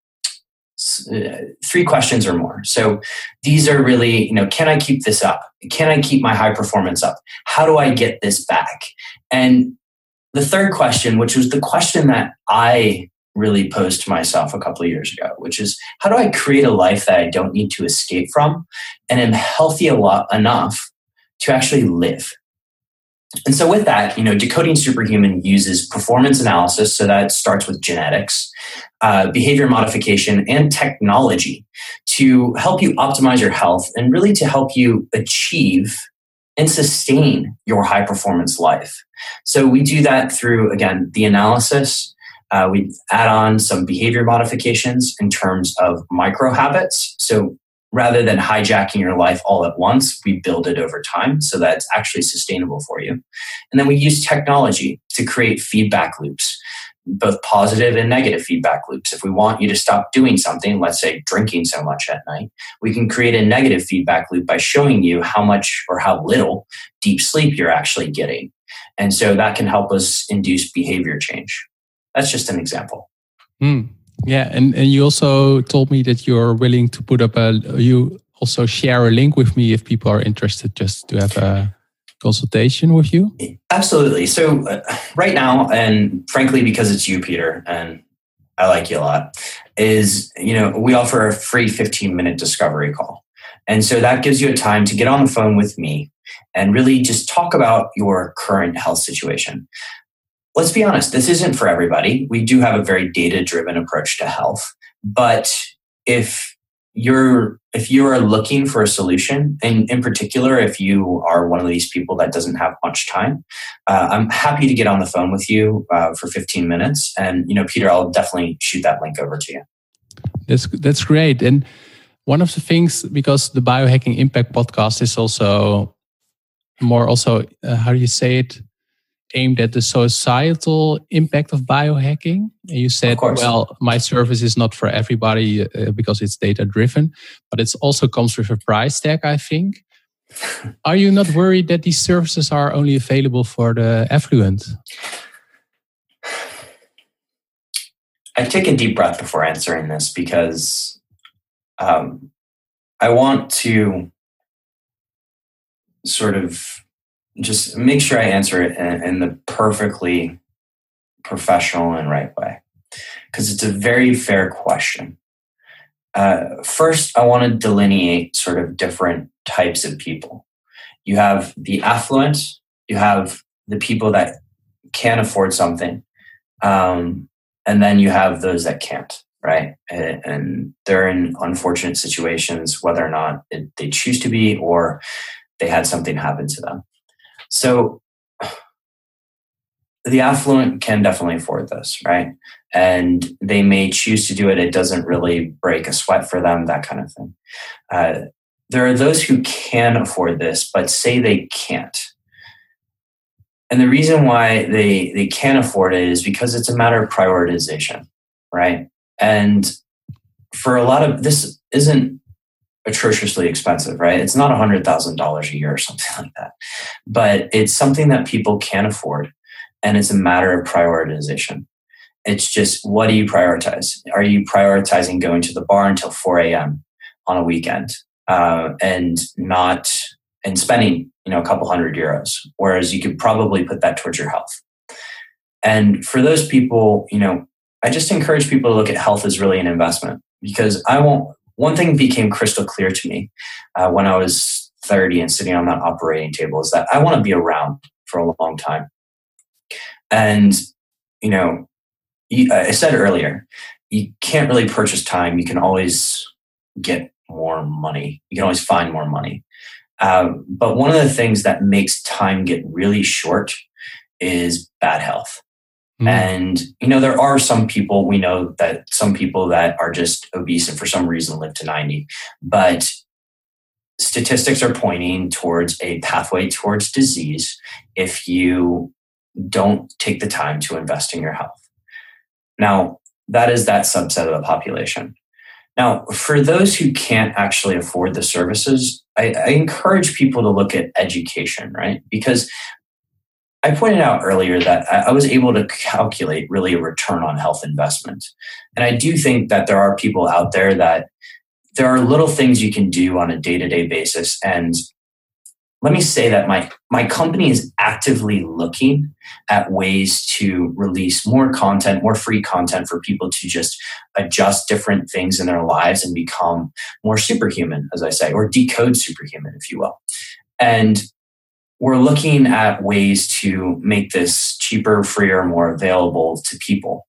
three questions or more. So these are really, you know, can I keep this up? Can I keep my high performance up? How do I get this back? And the third question, which was the question that I really posed to myself a couple of years ago, which is how do I create a life that I don't need to escape from and am healthy a lot enough to actually live? And so with that, you know, Decoding Superhuman uses performance analysis. So that starts with genetics, uh, behavior modification, and technology to help you optimize your health and really to help you achieve and sustain your high performance life. So we do that through, again, the analysis. Uh, we add on some behavior modifications in terms of micro habits. So rather than hijacking your life all at once, we build it over time so that it's actually sustainable for you. And then we use technology to create feedback loops, both positive and negative feedback loops. If we want you to stop doing something, let's say drinking so much at night, we can create a negative feedback loop by showing you how much or how little deep sleep you're actually getting. And so that can help us induce behavior change. That's just an example. Hmm. Yeah, and, and you also told me that you're willing to put up a, you also share a link with me if people are interested just to have a consultation with you. Absolutely. So uh, right now, and frankly, because it's you, Peter, and I like you a lot, is, you know, we offer a free fifteen minute discovery call. And so that gives you a time to get on the phone with me and really just talk about your current health situation. Let's be honest, this isn't for everybody. We do have a very data-driven approach to health. But if you're if you are looking for a solution, and in particular, if you are one of these people that doesn't have much time, uh, I'm happy to get on the phone with you uh, for fifteen minutes. And, you know, Peter, I'll definitely shoot that link over to you. That's that's great. And one of the things, because the Biohacking Impact podcast is also more also, uh, how do you say it, aimed at the societal impact of biohacking. And you said, well, my service is not for everybody uh, because it's data driven, but it also comes with a price tag, I think. Are you not worried that these services are only available for the affluent? I take a deep breath before answering this because um, I want to sort of just make sure I answer it in, in the perfectly professional and right way, because it's a very fair question. Uh, first, I want to delineate sort of different types of people. You have the affluent, you have the people that can afford something, um, and then you have those that can't, right? And, and they're in unfortunate situations, whether or not it, they choose to be or they had something happen to them. So the affluent can definitely afford this, right? And they may choose to do it. It doesn't really break a sweat for them, that kind of thing. Uh, there are those who can afford this, but say they can't. And the reason why they, they can't afford it is because it's a matter of prioritization, right? And for a lot of, this isn't atrociously expensive, right? It's not one hundred thousand dollars a year or something like that, but it's something that people can afford, and it's a matter of prioritization. It's just, what do you prioritize? Are you prioritizing going to the bar until four a.m. on a weekend uh, and not and spending, you know, a couple hundred euros, whereas you could probably put that towards your health? And for those people, you know, I just encourage people to look at health as really an investment, because I won't. One thing became crystal clear to me uh, when I was thirty and sitting on that operating table is that I want to be around for a long time. And, you know, you, uh, I said earlier, you can't really purchase time. You can always get more money. You can always find more money. Um, but one of the things that makes time get really short is bad health. Mm. And, you know, there are some people, we know that some people that are just obese and for some reason live to ninety. But statistics are pointing towards a pathway towards disease if you don't take the time to invest in your health. Now, that is that subset of the population. Now, for those who can't actually afford the services, I, I encourage people to look at education, right? Because I pointed out earlier that I was able to calculate really a return on health investment. And I do think that there are people out there that there are little things you can do on a day-to-day basis. And let me say that my, my company is actively looking at ways to release more content, more free content for people to just adjust different things in their lives and become more superhuman, as I say, or decode superhuman, if you will. And we're looking at ways to make this cheaper, freer, more available to people.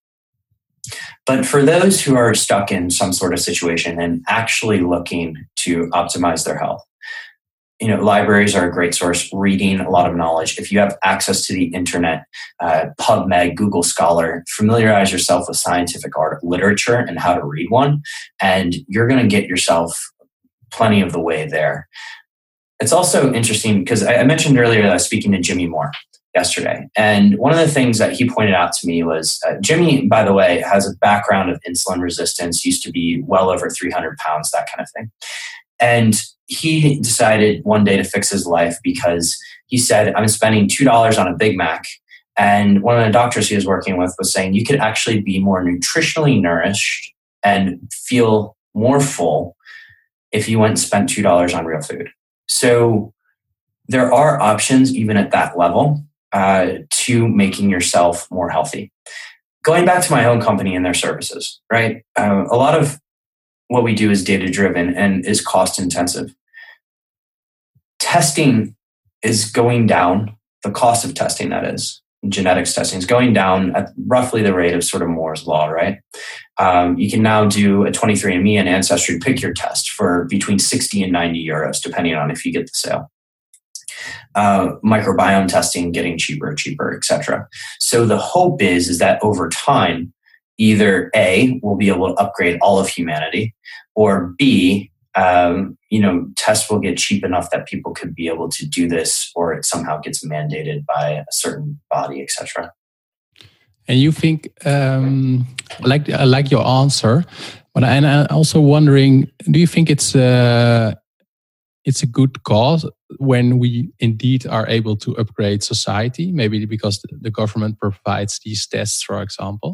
But for those who are stuck in some sort of situation and actually looking to optimize their health, you know, libraries are a great source, reading a lot of knowledge. If you have access to the internet, uh, PubMed, Google Scholar, familiarize yourself with scientific art, literature and how to read one, and you're going to get yourself plenty of the way there. It's also interesting because I mentioned earlier that I was speaking to Jimmy Moore yesterday. And one of the things that he pointed out to me was uh, Jimmy, by the way, has a background of insulin resistance, used to be well over three hundred pounds, that kind of thing. And he decided one day to fix his life because he said, I'm spending two dollars on a Big Mac And one of the doctors he was working with was saying you could actually be more nutritionally nourished and feel more full if you went and spent two dollars on real food. So there are options even at that level uh, to making yourself more healthy. Going back to my own company and their services, right? Uh, a lot of what we do is data-driven and is cost-intensive. Testing is going down, the cost of testing, that is, genetics testing is going down at roughly the rate of sort of Moore's law, right? Um, you can now do a twenty-three and me and Ancestry pick your test for between sixty and ninety euros, depending on if you get the sale. Uh, microbiome testing getting cheaper, cheaper, et cetera. So the hope is, is that over time, either A, we'll be able to upgrade all of humanity, or B, um, you know, tests will get cheap enough that people could be able to do this, or it somehow gets mandated by a certain body, et cetera. And you think, um, like I like your answer, but and I'm also wondering, do you think it's uh, it's a good cause when we indeed are able to upgrade society? Maybe because the government provides these tests, for example.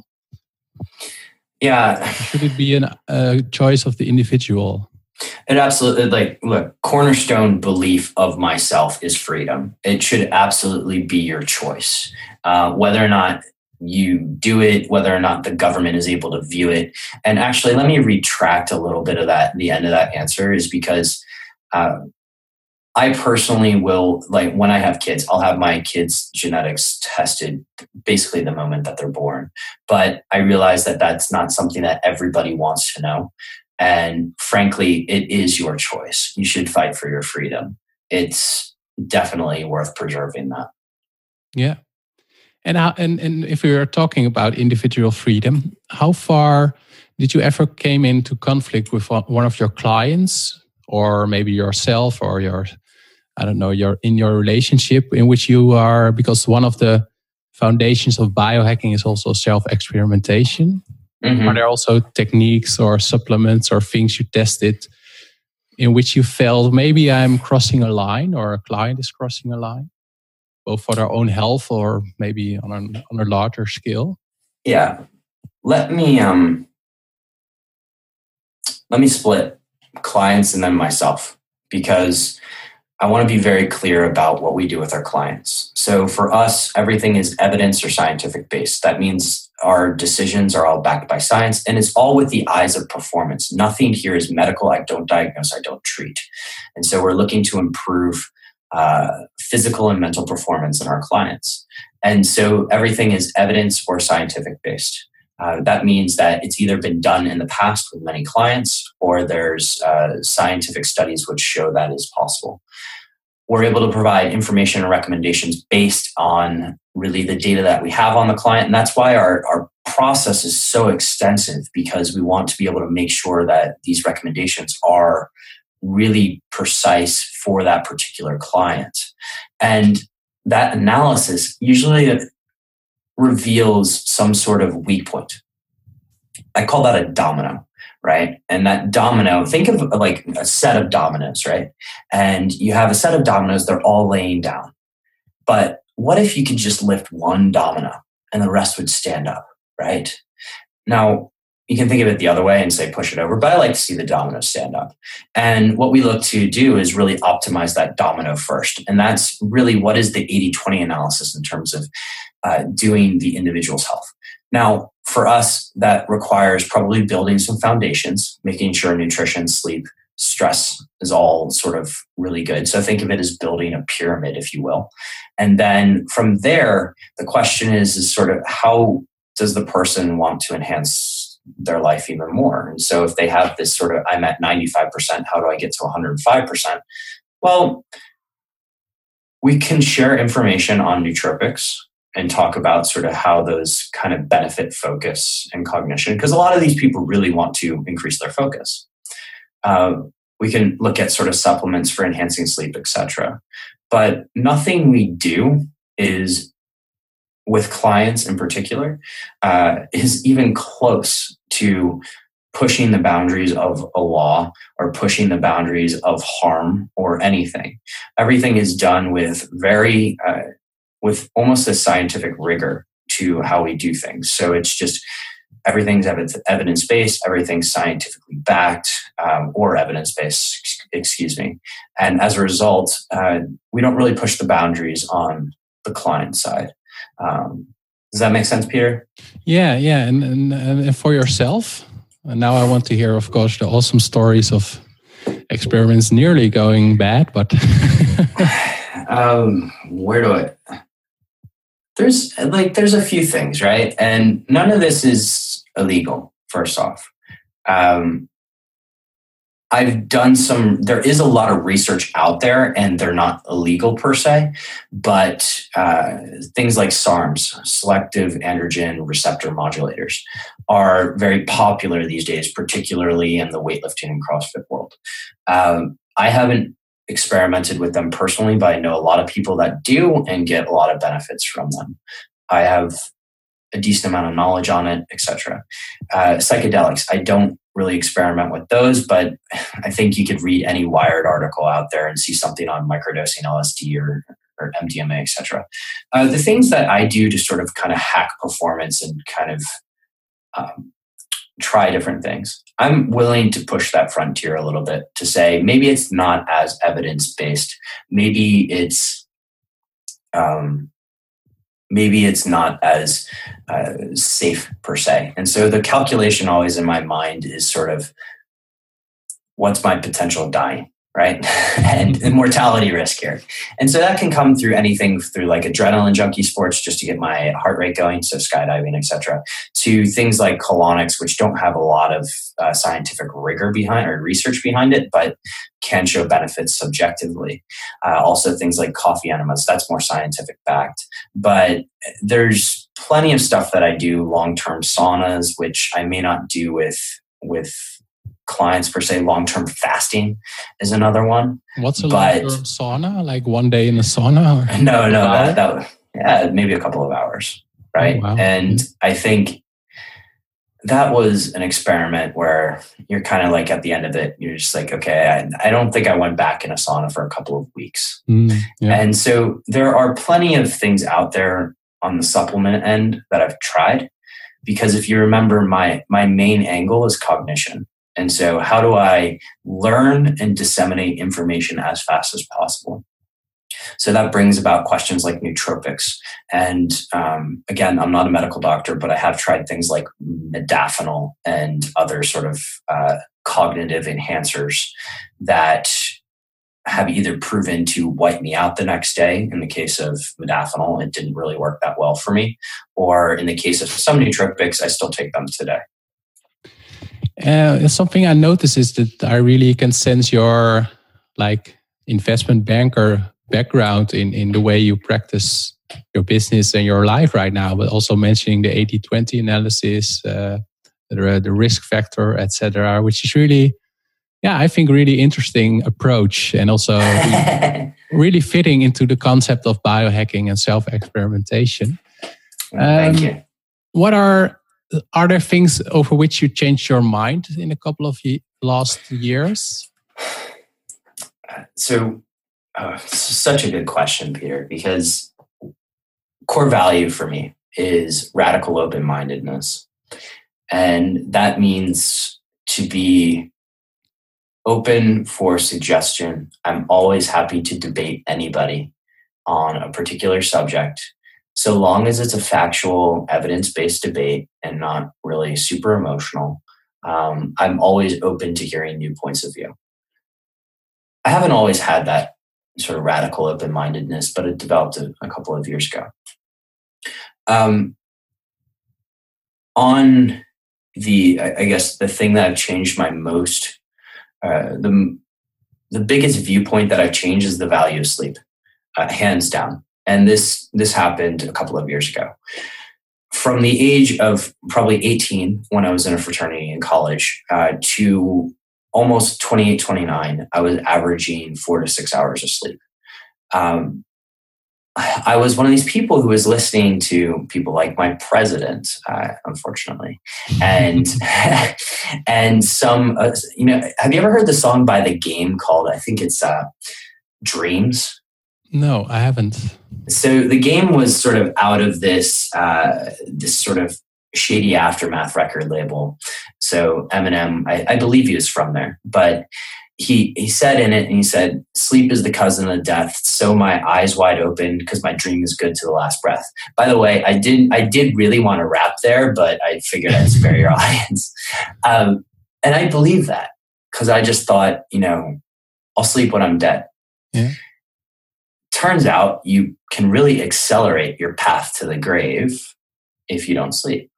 Yeah. Should it be a uh, choice of the individual? It absolutely, like, look, cornerstone belief of myself is freedom. It should absolutely be your choice. Uh, whether or not you do it, whether or not the government is able to view it. And actually, let me retract a little bit of that. The end of that answer is because uh, I personally will, like, when I have kids, I'll have my kids' genetics tested basically the moment that they're born. But I realize that that's not something that everybody wants to know. And frankly, it is your choice. You should fight for your freedom. It's definitely worth preserving that. Yeah. And how, and, and if we are talking about individual freedom, how far did you ever came into conflict with one of your clients, or maybe yourself, or your, I don't know, your in your relationship in which you are, because one of the foundations of biohacking is also self-experimentation. Mm-hmm. Are there also techniques or supplements or things you tested in which you felt maybe I'm crossing a line, or a client is crossing a line, both for their own health or maybe on a, on a larger scale? Yeah. Let me um let me split clients and then myself, because I want to be very clear about what we do with our clients. So for us, everything is evidence or scientific based. That means our decisions are all backed by science, and it's all with the eyes of performance. Nothing here is medical. I don't diagnose, I don't treat. And so we're looking to improve uh, physical and mental performance in our clients. And so everything is evidence or scientific based. Uh, that means that it's either been done in the past with many clients, or there's uh, scientific studies which show that is possible. We're able to provide information and recommendations based on really the data that we have on the client. And that's why our, our process is so extensive, because we want to be able to make sure that these recommendations are really precise for that particular client. And that analysis usually reveals some sort of weak point. I call that a domino, right? And that domino, think of like a set of dominoes, right? And you have a set of dominoes, they're all laying down. But what if you could just lift one domino and the rest would stand up, right? Now, you can think of it the other way and say push it over, but I like to see the domino stand up. And what we look to do is really optimize that domino first. And that's really what is the eighty twenty analysis in terms of uh, doing the individual's health. Now, for us, that requires probably building some foundations, making sure nutrition, sleep, stress is all sort of really good. So think of it as building a pyramid, if you will. And then from there, the question is, is sort of how does the person want to enhance their life even more? And so if they have this sort of, I'm at ninety-five percent, how do I get to one hundred five percent? Well, we can share information on nootropics and talk about sort of how those kind of benefit focus and cognition, because a lot of these people really want to increase their focus. Uh, we can look at sort of supplements for enhancing sleep, et cetera. But nothing we do is, with clients in particular, uh, is even close to pushing the boundaries of a law or pushing the boundaries of harm or anything. Everything is done with very uh, with almost a scientific rigor to how we do things. So it's just everything's evidence-based, everything's scientifically backed, um, or evidence-based, excuse me. And as a result, uh, we don't really push the boundaries on the client side. Um, does that make sense, Peter? Yeah, yeah. And, and, and for yourself, and now I want to hear, of course, the awesome stories of experiments nearly going bad, but... um, where do I... There's like there's a few things, right? And none of this is illegal, first off. Um, I've done some, there is a lot of research out there and they're not illegal per se, but uh, things like SARMs, selective androgen receptor modulators, are very popular these days, particularly in the weightlifting and CrossFit world. Um, I haven't experimented with them personally, but I know a lot of people that do and get a lot of benefits from them. I have a decent amount of knowledge on it, et cetera. Uh, psychedelics, I don't really experiment with those, but I think you could read any Wired article out there and see something on microdosing L S D or, or M D M A, et cetera. Uh, the things that I do to sort of kind of hack performance and kind of um, try different things, I'm willing to push that frontier a little bit to say maybe it's not as evidence-based. Maybe it's um, maybe it's not as uh, safe per se. And so the calculation always in my mind is sort of what's my potential dying, right? And the mortality risk here. And so that can come through anything through like adrenaline junkie sports just to get my heart rate going, so skydiving, et cetera, to things like colonics, which don't have a lot of uh, scientific rigor behind or research behind it, but can show benefits subjectively. Uh, also things like coffee enemas, that's more scientific backed. But there's plenty of stuff that I do, long-term saunas, which I may not do with with clients per se. Long-term fasting is another one. What's a long-term sauna? Like one day in a sauna? Or no, no, that, that yeah, maybe a couple of hours, right? Oh, wow. And I think that was an experiment where you're kind of like at the end of it, you're just like, okay, I, I don't think I went back in a sauna for a couple of weeks. Mm, yeah. And so there are plenty of things out there on the supplement end that I've tried, because if you remember, my my main angle is cognition. And so how do I learn and disseminate information as fast as possible? So that brings about questions like nootropics. And um, again, I'm not a medical doctor, but I have tried things like modafinil and other sort of uh, cognitive enhancers that have either proven to wipe me out the next day. In the case of modafinil, it didn't really work that well for me. Or in the case of some nootropics, I still take them today. Uh, something I notice is that I really can sense your like investment banker background in, in the way you practice your business and your life right now, but also mentioning the eighty twenty analysis, uh, the, the risk factor, et cetera, which is really, yeah, I think really interesting approach, and also really, really fitting into the concept of biohacking and self-experimentation. Thank um, you. What are Are there things over which you changed your mind in a couple of ye- last years? So, uh, such a good question, Peter, because core value for me is radical open-mindedness. And that means to be open for suggestion. I'm always happy to debate anybody on a particular subject, so long as it's a factual, evidence-based debate and not really super emotional. um, I'm always open to hearing new points of view. I haven't always had that sort of radical open-mindedness, but it developed a, a couple of years ago. Um, on the, I guess, the thing that I've changed my most, uh, the the biggest viewpoint that I've changed is the value of sleep, uh, hands down. And this this happened a couple of years ago. From the age of probably eighteen, when I was in a fraternity in college, uh, to almost twenty-eight, twenty-nine, I was averaging four to six hours of sleep. Um, I was one of these people who was listening to people like my president, uh, unfortunately, and and some, uh, you know, have you ever heard the song by The Game called, I think it's uh, Dreams? No, I haven't. So the Game was sort of out of this uh, this sort of shady Aftermath record label. So Eminem, I, I believe he was from there, but he he said in it, and he said, "Sleep is the cousin of death. So my eyes wide open because my dream is good to the last breath." By the way, I didn't I did really want to rap there, but I figured I'd spare your audience. Um, and I believe that because I just thought, you know, I'll sleep when I'm dead. Yeah. Turns out you can really accelerate your path to the grave if you don't sleep.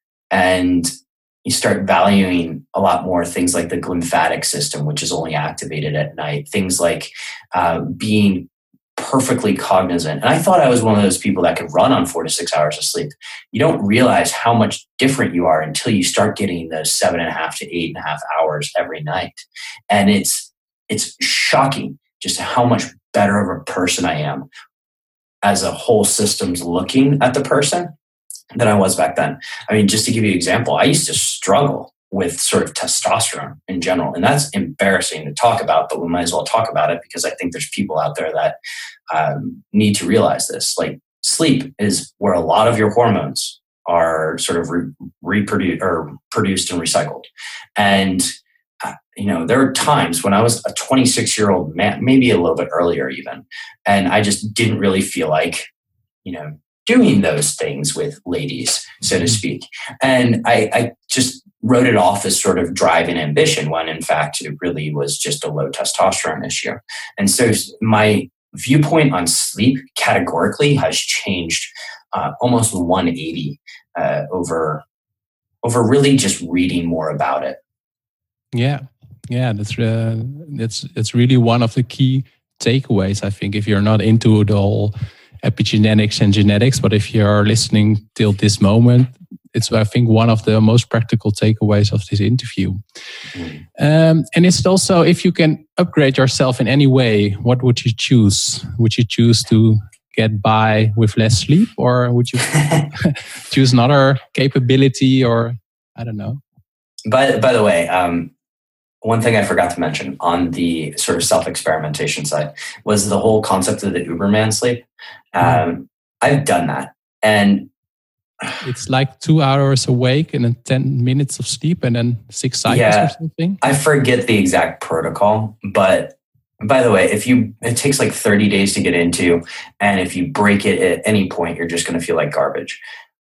And you start valuing a lot more things like the glymphatic system, which is only activated at night. Things like uh, being perfectly cognizant. And I thought I was one of those people that could run on four to six hours of sleep. You don't realize how much different you are until you start getting those seven and a half to eight and a half hours every night. And it's it's shocking just how much better of a person I am as a whole system's looking at the person than I was back then. I mean, just to give you an example, I used to struggle with sort of testosterone in general. And that's embarrassing to talk about, but we might as well talk about it because I think there's people out there that um, need to realize this. Like sleep is where a lot of your hormones are sort of re- reproduced or produced and recycled. And, uh, you know, there are times when I was a twenty-six year old man, maybe a little bit earlier even, and I just didn't really feel like, you know, doing those things with ladies, so to speak. And I, I just wrote it off as sort of drive and ambition when in fact it really was just a low testosterone issue. And so my viewpoint on sleep categorically has changed uh, almost one eighty uh, over, over really just reading more about it. Yeah, yeah, that's uh, that's that's really one of the key takeaways, I think, if you're not into the whole epigenetics and genetics, but if you're listening till this moment, it's, I think, one of the most practical takeaways of this interview. Mm. Um, and it's also, if you can upgrade yourself in any way, what would you choose? Would you choose to get by with less sleep, or would you choose another capability, or I don't know? By, by the way, um, one thing I forgot to mention on the sort of self-experimentation side was the whole concept of the Uberman sleep. Um, I've done that. And it's like two hours awake and then ten minutes of sleep and then six cycles yeah, or something. I forget the exact protocol, but by the way, if you, it takes like thirty days to get into, and if you break it at any point, you're just going to feel like garbage.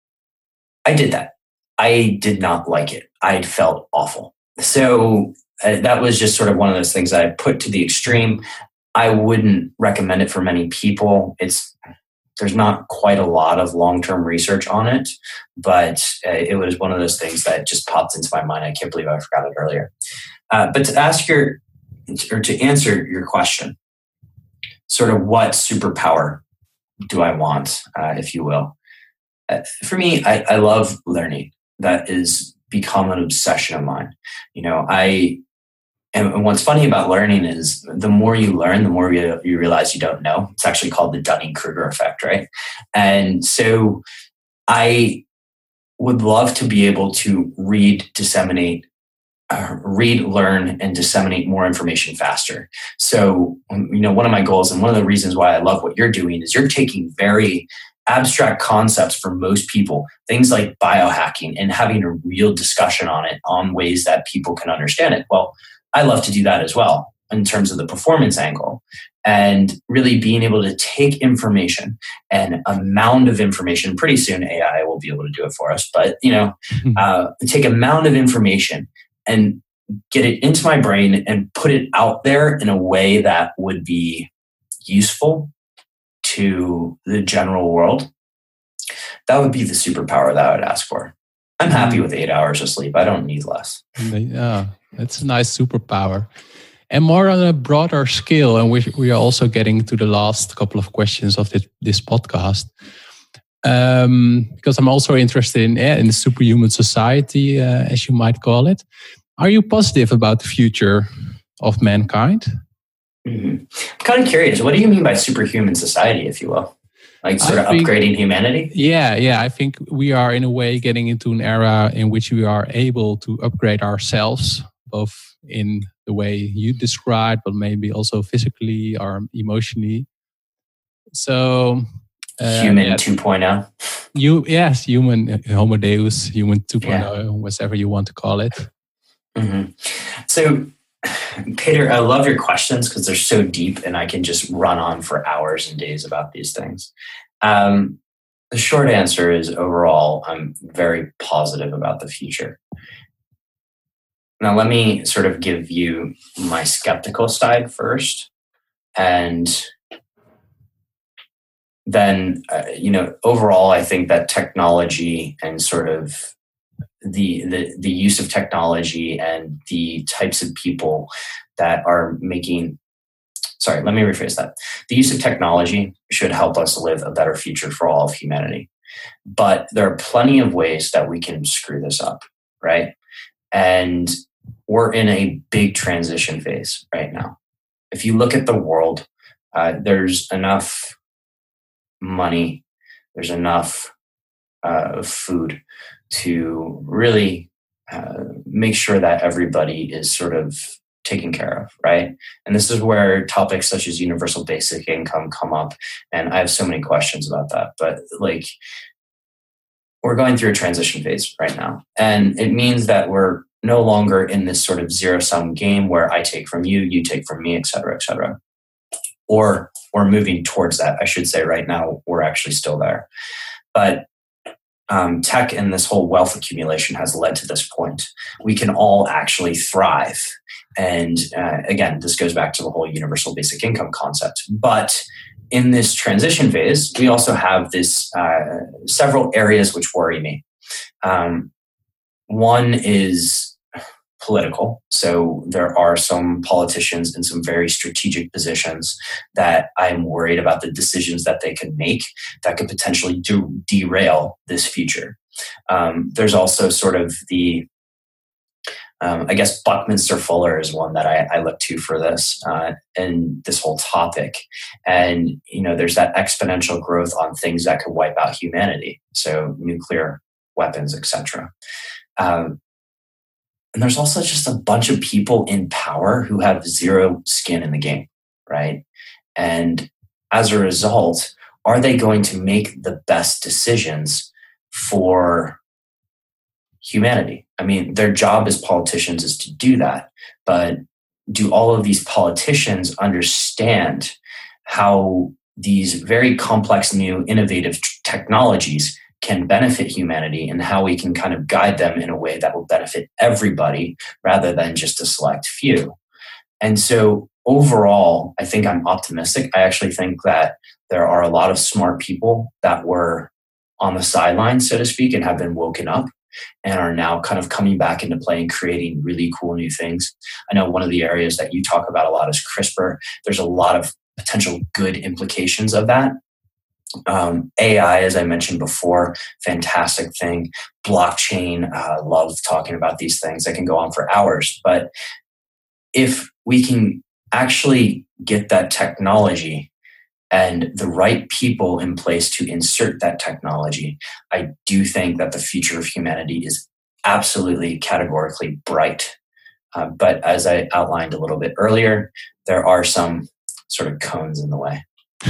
I did that. I did not like it. I felt awful. So uh, that was just sort of one of those things that I put to the extreme. I wouldn't recommend it for many people. It's, there's not quite a lot of long-term research on it, but uh, it was one of those things that just popped into my mind. I can't believe I forgot it earlier. Uh, but to ask your, or to answer your question, sort of what superpower do I want, uh, if you will? Uh, for me, I, I love learning. That is become an obsession of mine. You know, I, and what's funny about learning is the more you learn, the more you, you realize you don't know. It's actually called the Dunning-Kruger effect, right? And so I would love to be able to read, disseminate, uh, read, learn, and disseminate more information faster. So, you know, one of my goals and one of the reasons why I love what you're doing is you're taking very abstract concepts for most people, things like biohacking, and having a real discussion on it on ways that people can understand it. Well, I love to do that as well in terms of the performance angle, and really being able to take information and a mound of information. Pretty soon A I will be able to do it for us, but you know, uh, take a mound of information and get it into my brain and put it out there in a way that would be useful to the general world. That would be the superpower that I would ask for. I'm happy with eight hours of sleep. I don't need less. Yeah, that's a nice superpower. And more on a broader scale, and we, we are also getting to the last couple of questions of this, this podcast. Um, because I'm also interested in, in the superhuman society, uh, as you might call it. Are you positive about the future of mankind? Mm-hmm. I'm kind of curious. What do you mean by superhuman society, if you will? Like sort I of think, upgrading humanity? Yeah, yeah. I think we are in a way getting into an era in which we are able to upgrade ourselves, both in the way you described, but maybe also physically or emotionally. So uh, human yeah, two point oh. You yes, human Homo Deus, human two point oh, yeah. Whatever you want to call it. Mm-hmm. So, Peter, I love your questions because they're so deep, and I can just run on for hours and days about these things. Um, the short answer is overall, I'm very positive about the future. Now, let me sort of give you my skeptical side first, and then, uh, you know, overall, I think that technology and sort of the, the the use of technology and the types of people that are making, sorry, let me rephrase that. The use of technology should help us live a better future for all of humanity. But there are plenty of ways that we can screw this up, right? And we're in a big transition phase right now. If you look at the world, uh, there's enough money, there's enough uh, food to really uh, make sure that everybody is sort of taken care of, right? And this is where topics such as universal basic income come up. And I have so many questions about that. But like, we're going through a transition phase right now. And it means that we're no longer in this sort of zero-sum game where I take from you, you take from me, et cetera, et cetera. Or we're moving towards that. I should say right now, we're actually still there. But Um, tech and this whole wealth accumulation has led to this point. We can all actually thrive. And uh, again, this goes back to the whole universal basic income concept. But in this transition phase, we also have this uh, several areas which worry me. Um, one is political. So there are some politicians in some very strategic positions that I'm worried about the decisions that they could make that could potentially do, derail this future. Um, there's also sort of the, um, I guess Buckminster Fuller is one that I, I look to for this uh, and this whole topic. And, you know, there's that exponential growth on things that could wipe out humanity. So nuclear weapons, et cetera. Um, And there's also just a bunch of people in power who have zero skin in the game, right? And as a result, are they going to make the best decisions for humanity? I mean, their job as politicians is to do that. But do all of these politicians understand how these very complex, new, innovative technologies can benefit humanity and how we can kind of guide them in a way that will benefit everybody rather than just a select few? And so overall, I think I'm optimistic. I actually think that there are a lot of smart people that were on the sidelines, so to speak, and have been woken up and are now kind of coming back into play and creating really cool new things. I know one of the areas that you talk about a lot is CRISPR. There's a lot of potential good implications of that. Um, A I, as I mentioned before, fantastic thing. Blockchain, uh, love talking about these things. I can go on for hours. But if we can actually get that technology and the right people in place to insert that technology, I do think that the future of humanity is absolutely categorically bright. Uh, but as I outlined a little bit earlier, there are some sort of cones in the way.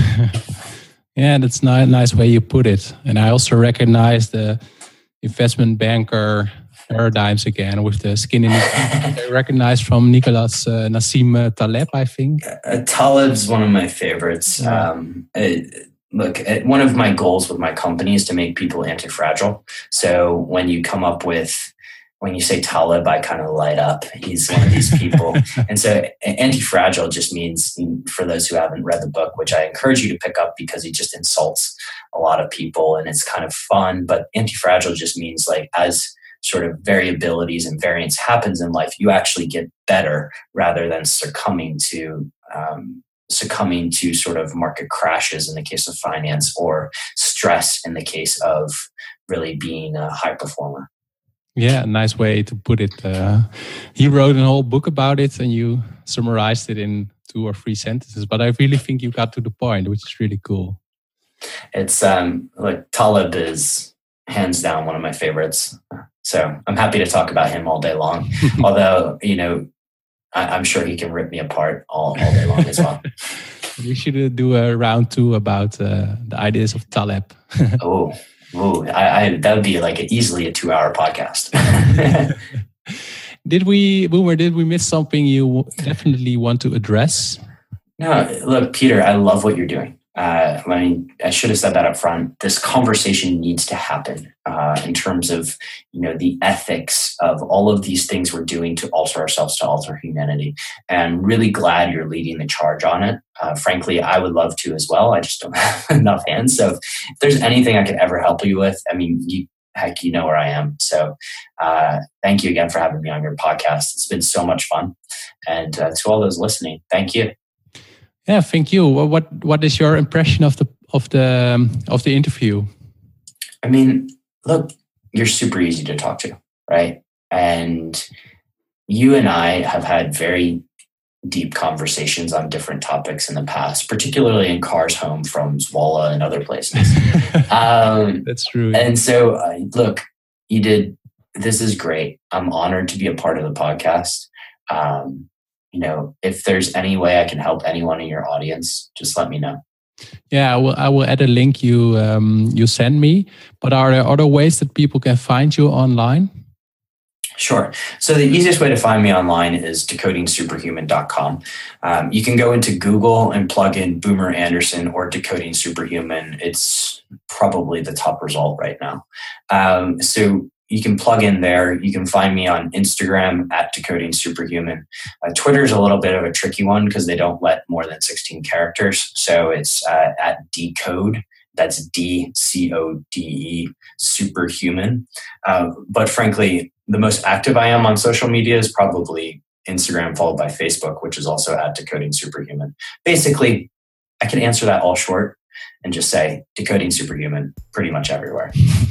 Yeah, that's a nice way you put it. And I also recognize the investment banker paradigms again with the skin in the I recognize from Nicholas uh, Nassim Taleb, I think. Uh, Taleb's one of my favorites. Yeah. Um, it, look, it, one of my goals with my company is to make people anti-fragile. So when you come up with, when you say Taleb, I kind of light up. He's one of these people. And so anti-fragile just means, for those who haven't read the book, which I encourage you to pick up because he just insults a lot of people and it's kind of fun. But anti-fragile just means like as sort of variabilities and variance happens in life, you actually get better rather than succumbing to um, succumbing to sort of market crashes in the case of finance or stress in the case of really being a high performer. Yeah, nice way to put it. Uh, he wrote a whole book about it and you summarized it in two or three sentences, but I really think you got to the point, which is really cool. It's um, like Taleb is hands down one of my favorites. So I'm happy to talk about him all day long. Although, you know, I, I'm sure he can rip me apart all, all day long as well. We should do a round two about uh, the ideas of Taleb. oh, oh I, I, that would be like a, easily a two-hour podcast. Did we, Boomer, did we miss something you definitely want to address? No, look, Peter, I love what you're doing. Uh, I mean, I should have said that up front. This conversation needs to happen uh, in terms of, you know, the ethics of all of these things we're doing to alter ourselves, to alter humanity. And I'm really glad you're leading the charge on it. Uh, frankly, I would love to as well. I just don't have enough hands. So if there's anything I could ever help you with, I mean, you, heck, you know where I am. So uh, thank you again for having me on your podcast. It's been so much fun. And uh, to all those listening, thank you. Yeah, thank you. What What is your impression of the of the um, of the interview? I mean, look, you're super easy to talk to, right? And you and I have had very deep conversations on different topics in the past, particularly in cars home from Zwolle and other places. um, That's true. And so, uh, look, you did. This is great. I'm honored to be a part of the podcast. Um, You know, if there's any way I can help anyone in your audience, just let me know. Yeah, I will, I will add a link you um, you send me. But are there other ways that people can find you online? Sure. So the easiest way to find me online is decoding superhuman dot com. Um, you can go into Google and plug in Boomer Anderson or Decoding Superhuman. It's probably the top result right now. Um, so you can plug in there. You can find me on Instagram at Decoding Superhuman. Uh, Twitter's a little bit of a tricky one because they don't let more than sixteen characters. So it's uh, at Decode. That's D C O D E, Superhuman. Uh, but frankly, the most active I am on social media is probably Instagram, followed by Facebook, which is also at Decoding Superhuman. Basically, I can answer that all short and just say Decoding Superhuman pretty much everywhere.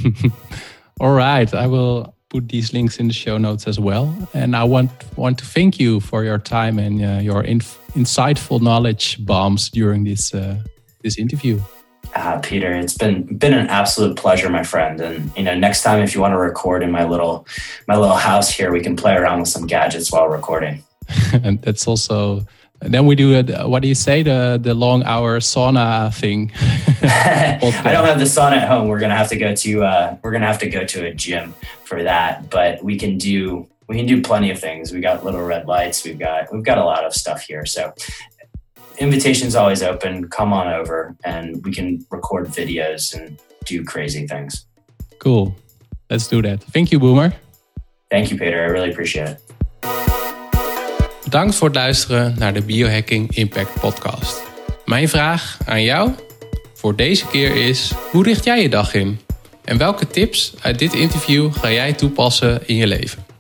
All right, I will put these links in the show notes as well. And I want want to thank you for your time and uh, your inf- insightful knowledge bombs during this uh, this interview. Uh, Peter, it's been been an absolute pleasure, my friend. And you know, next time if you want to record in my little my little house here, we can play around with some gadgets while recording. And that's also. And then we do it. What do you say? The the long hour sauna thing. I don't have the sauna at home. We're gonna have to go to uh, we're gonna have to go to a gym for that. But we can do we can do plenty of things. We got little red lights. We've got we've got a lot of stuff here. So invitation's always open. Come on over, and we can record videos and do crazy things. Cool. Let's do that. Thank you, Boomer. Thank you, Peter. I really appreciate it. Bedankt voor het luisteren naar de Biohacking Impact Podcast. Mijn vraag aan jou voor deze keer is: hoe richt jij je dag in? En welke tips uit dit interview ga jij toepassen in je leven?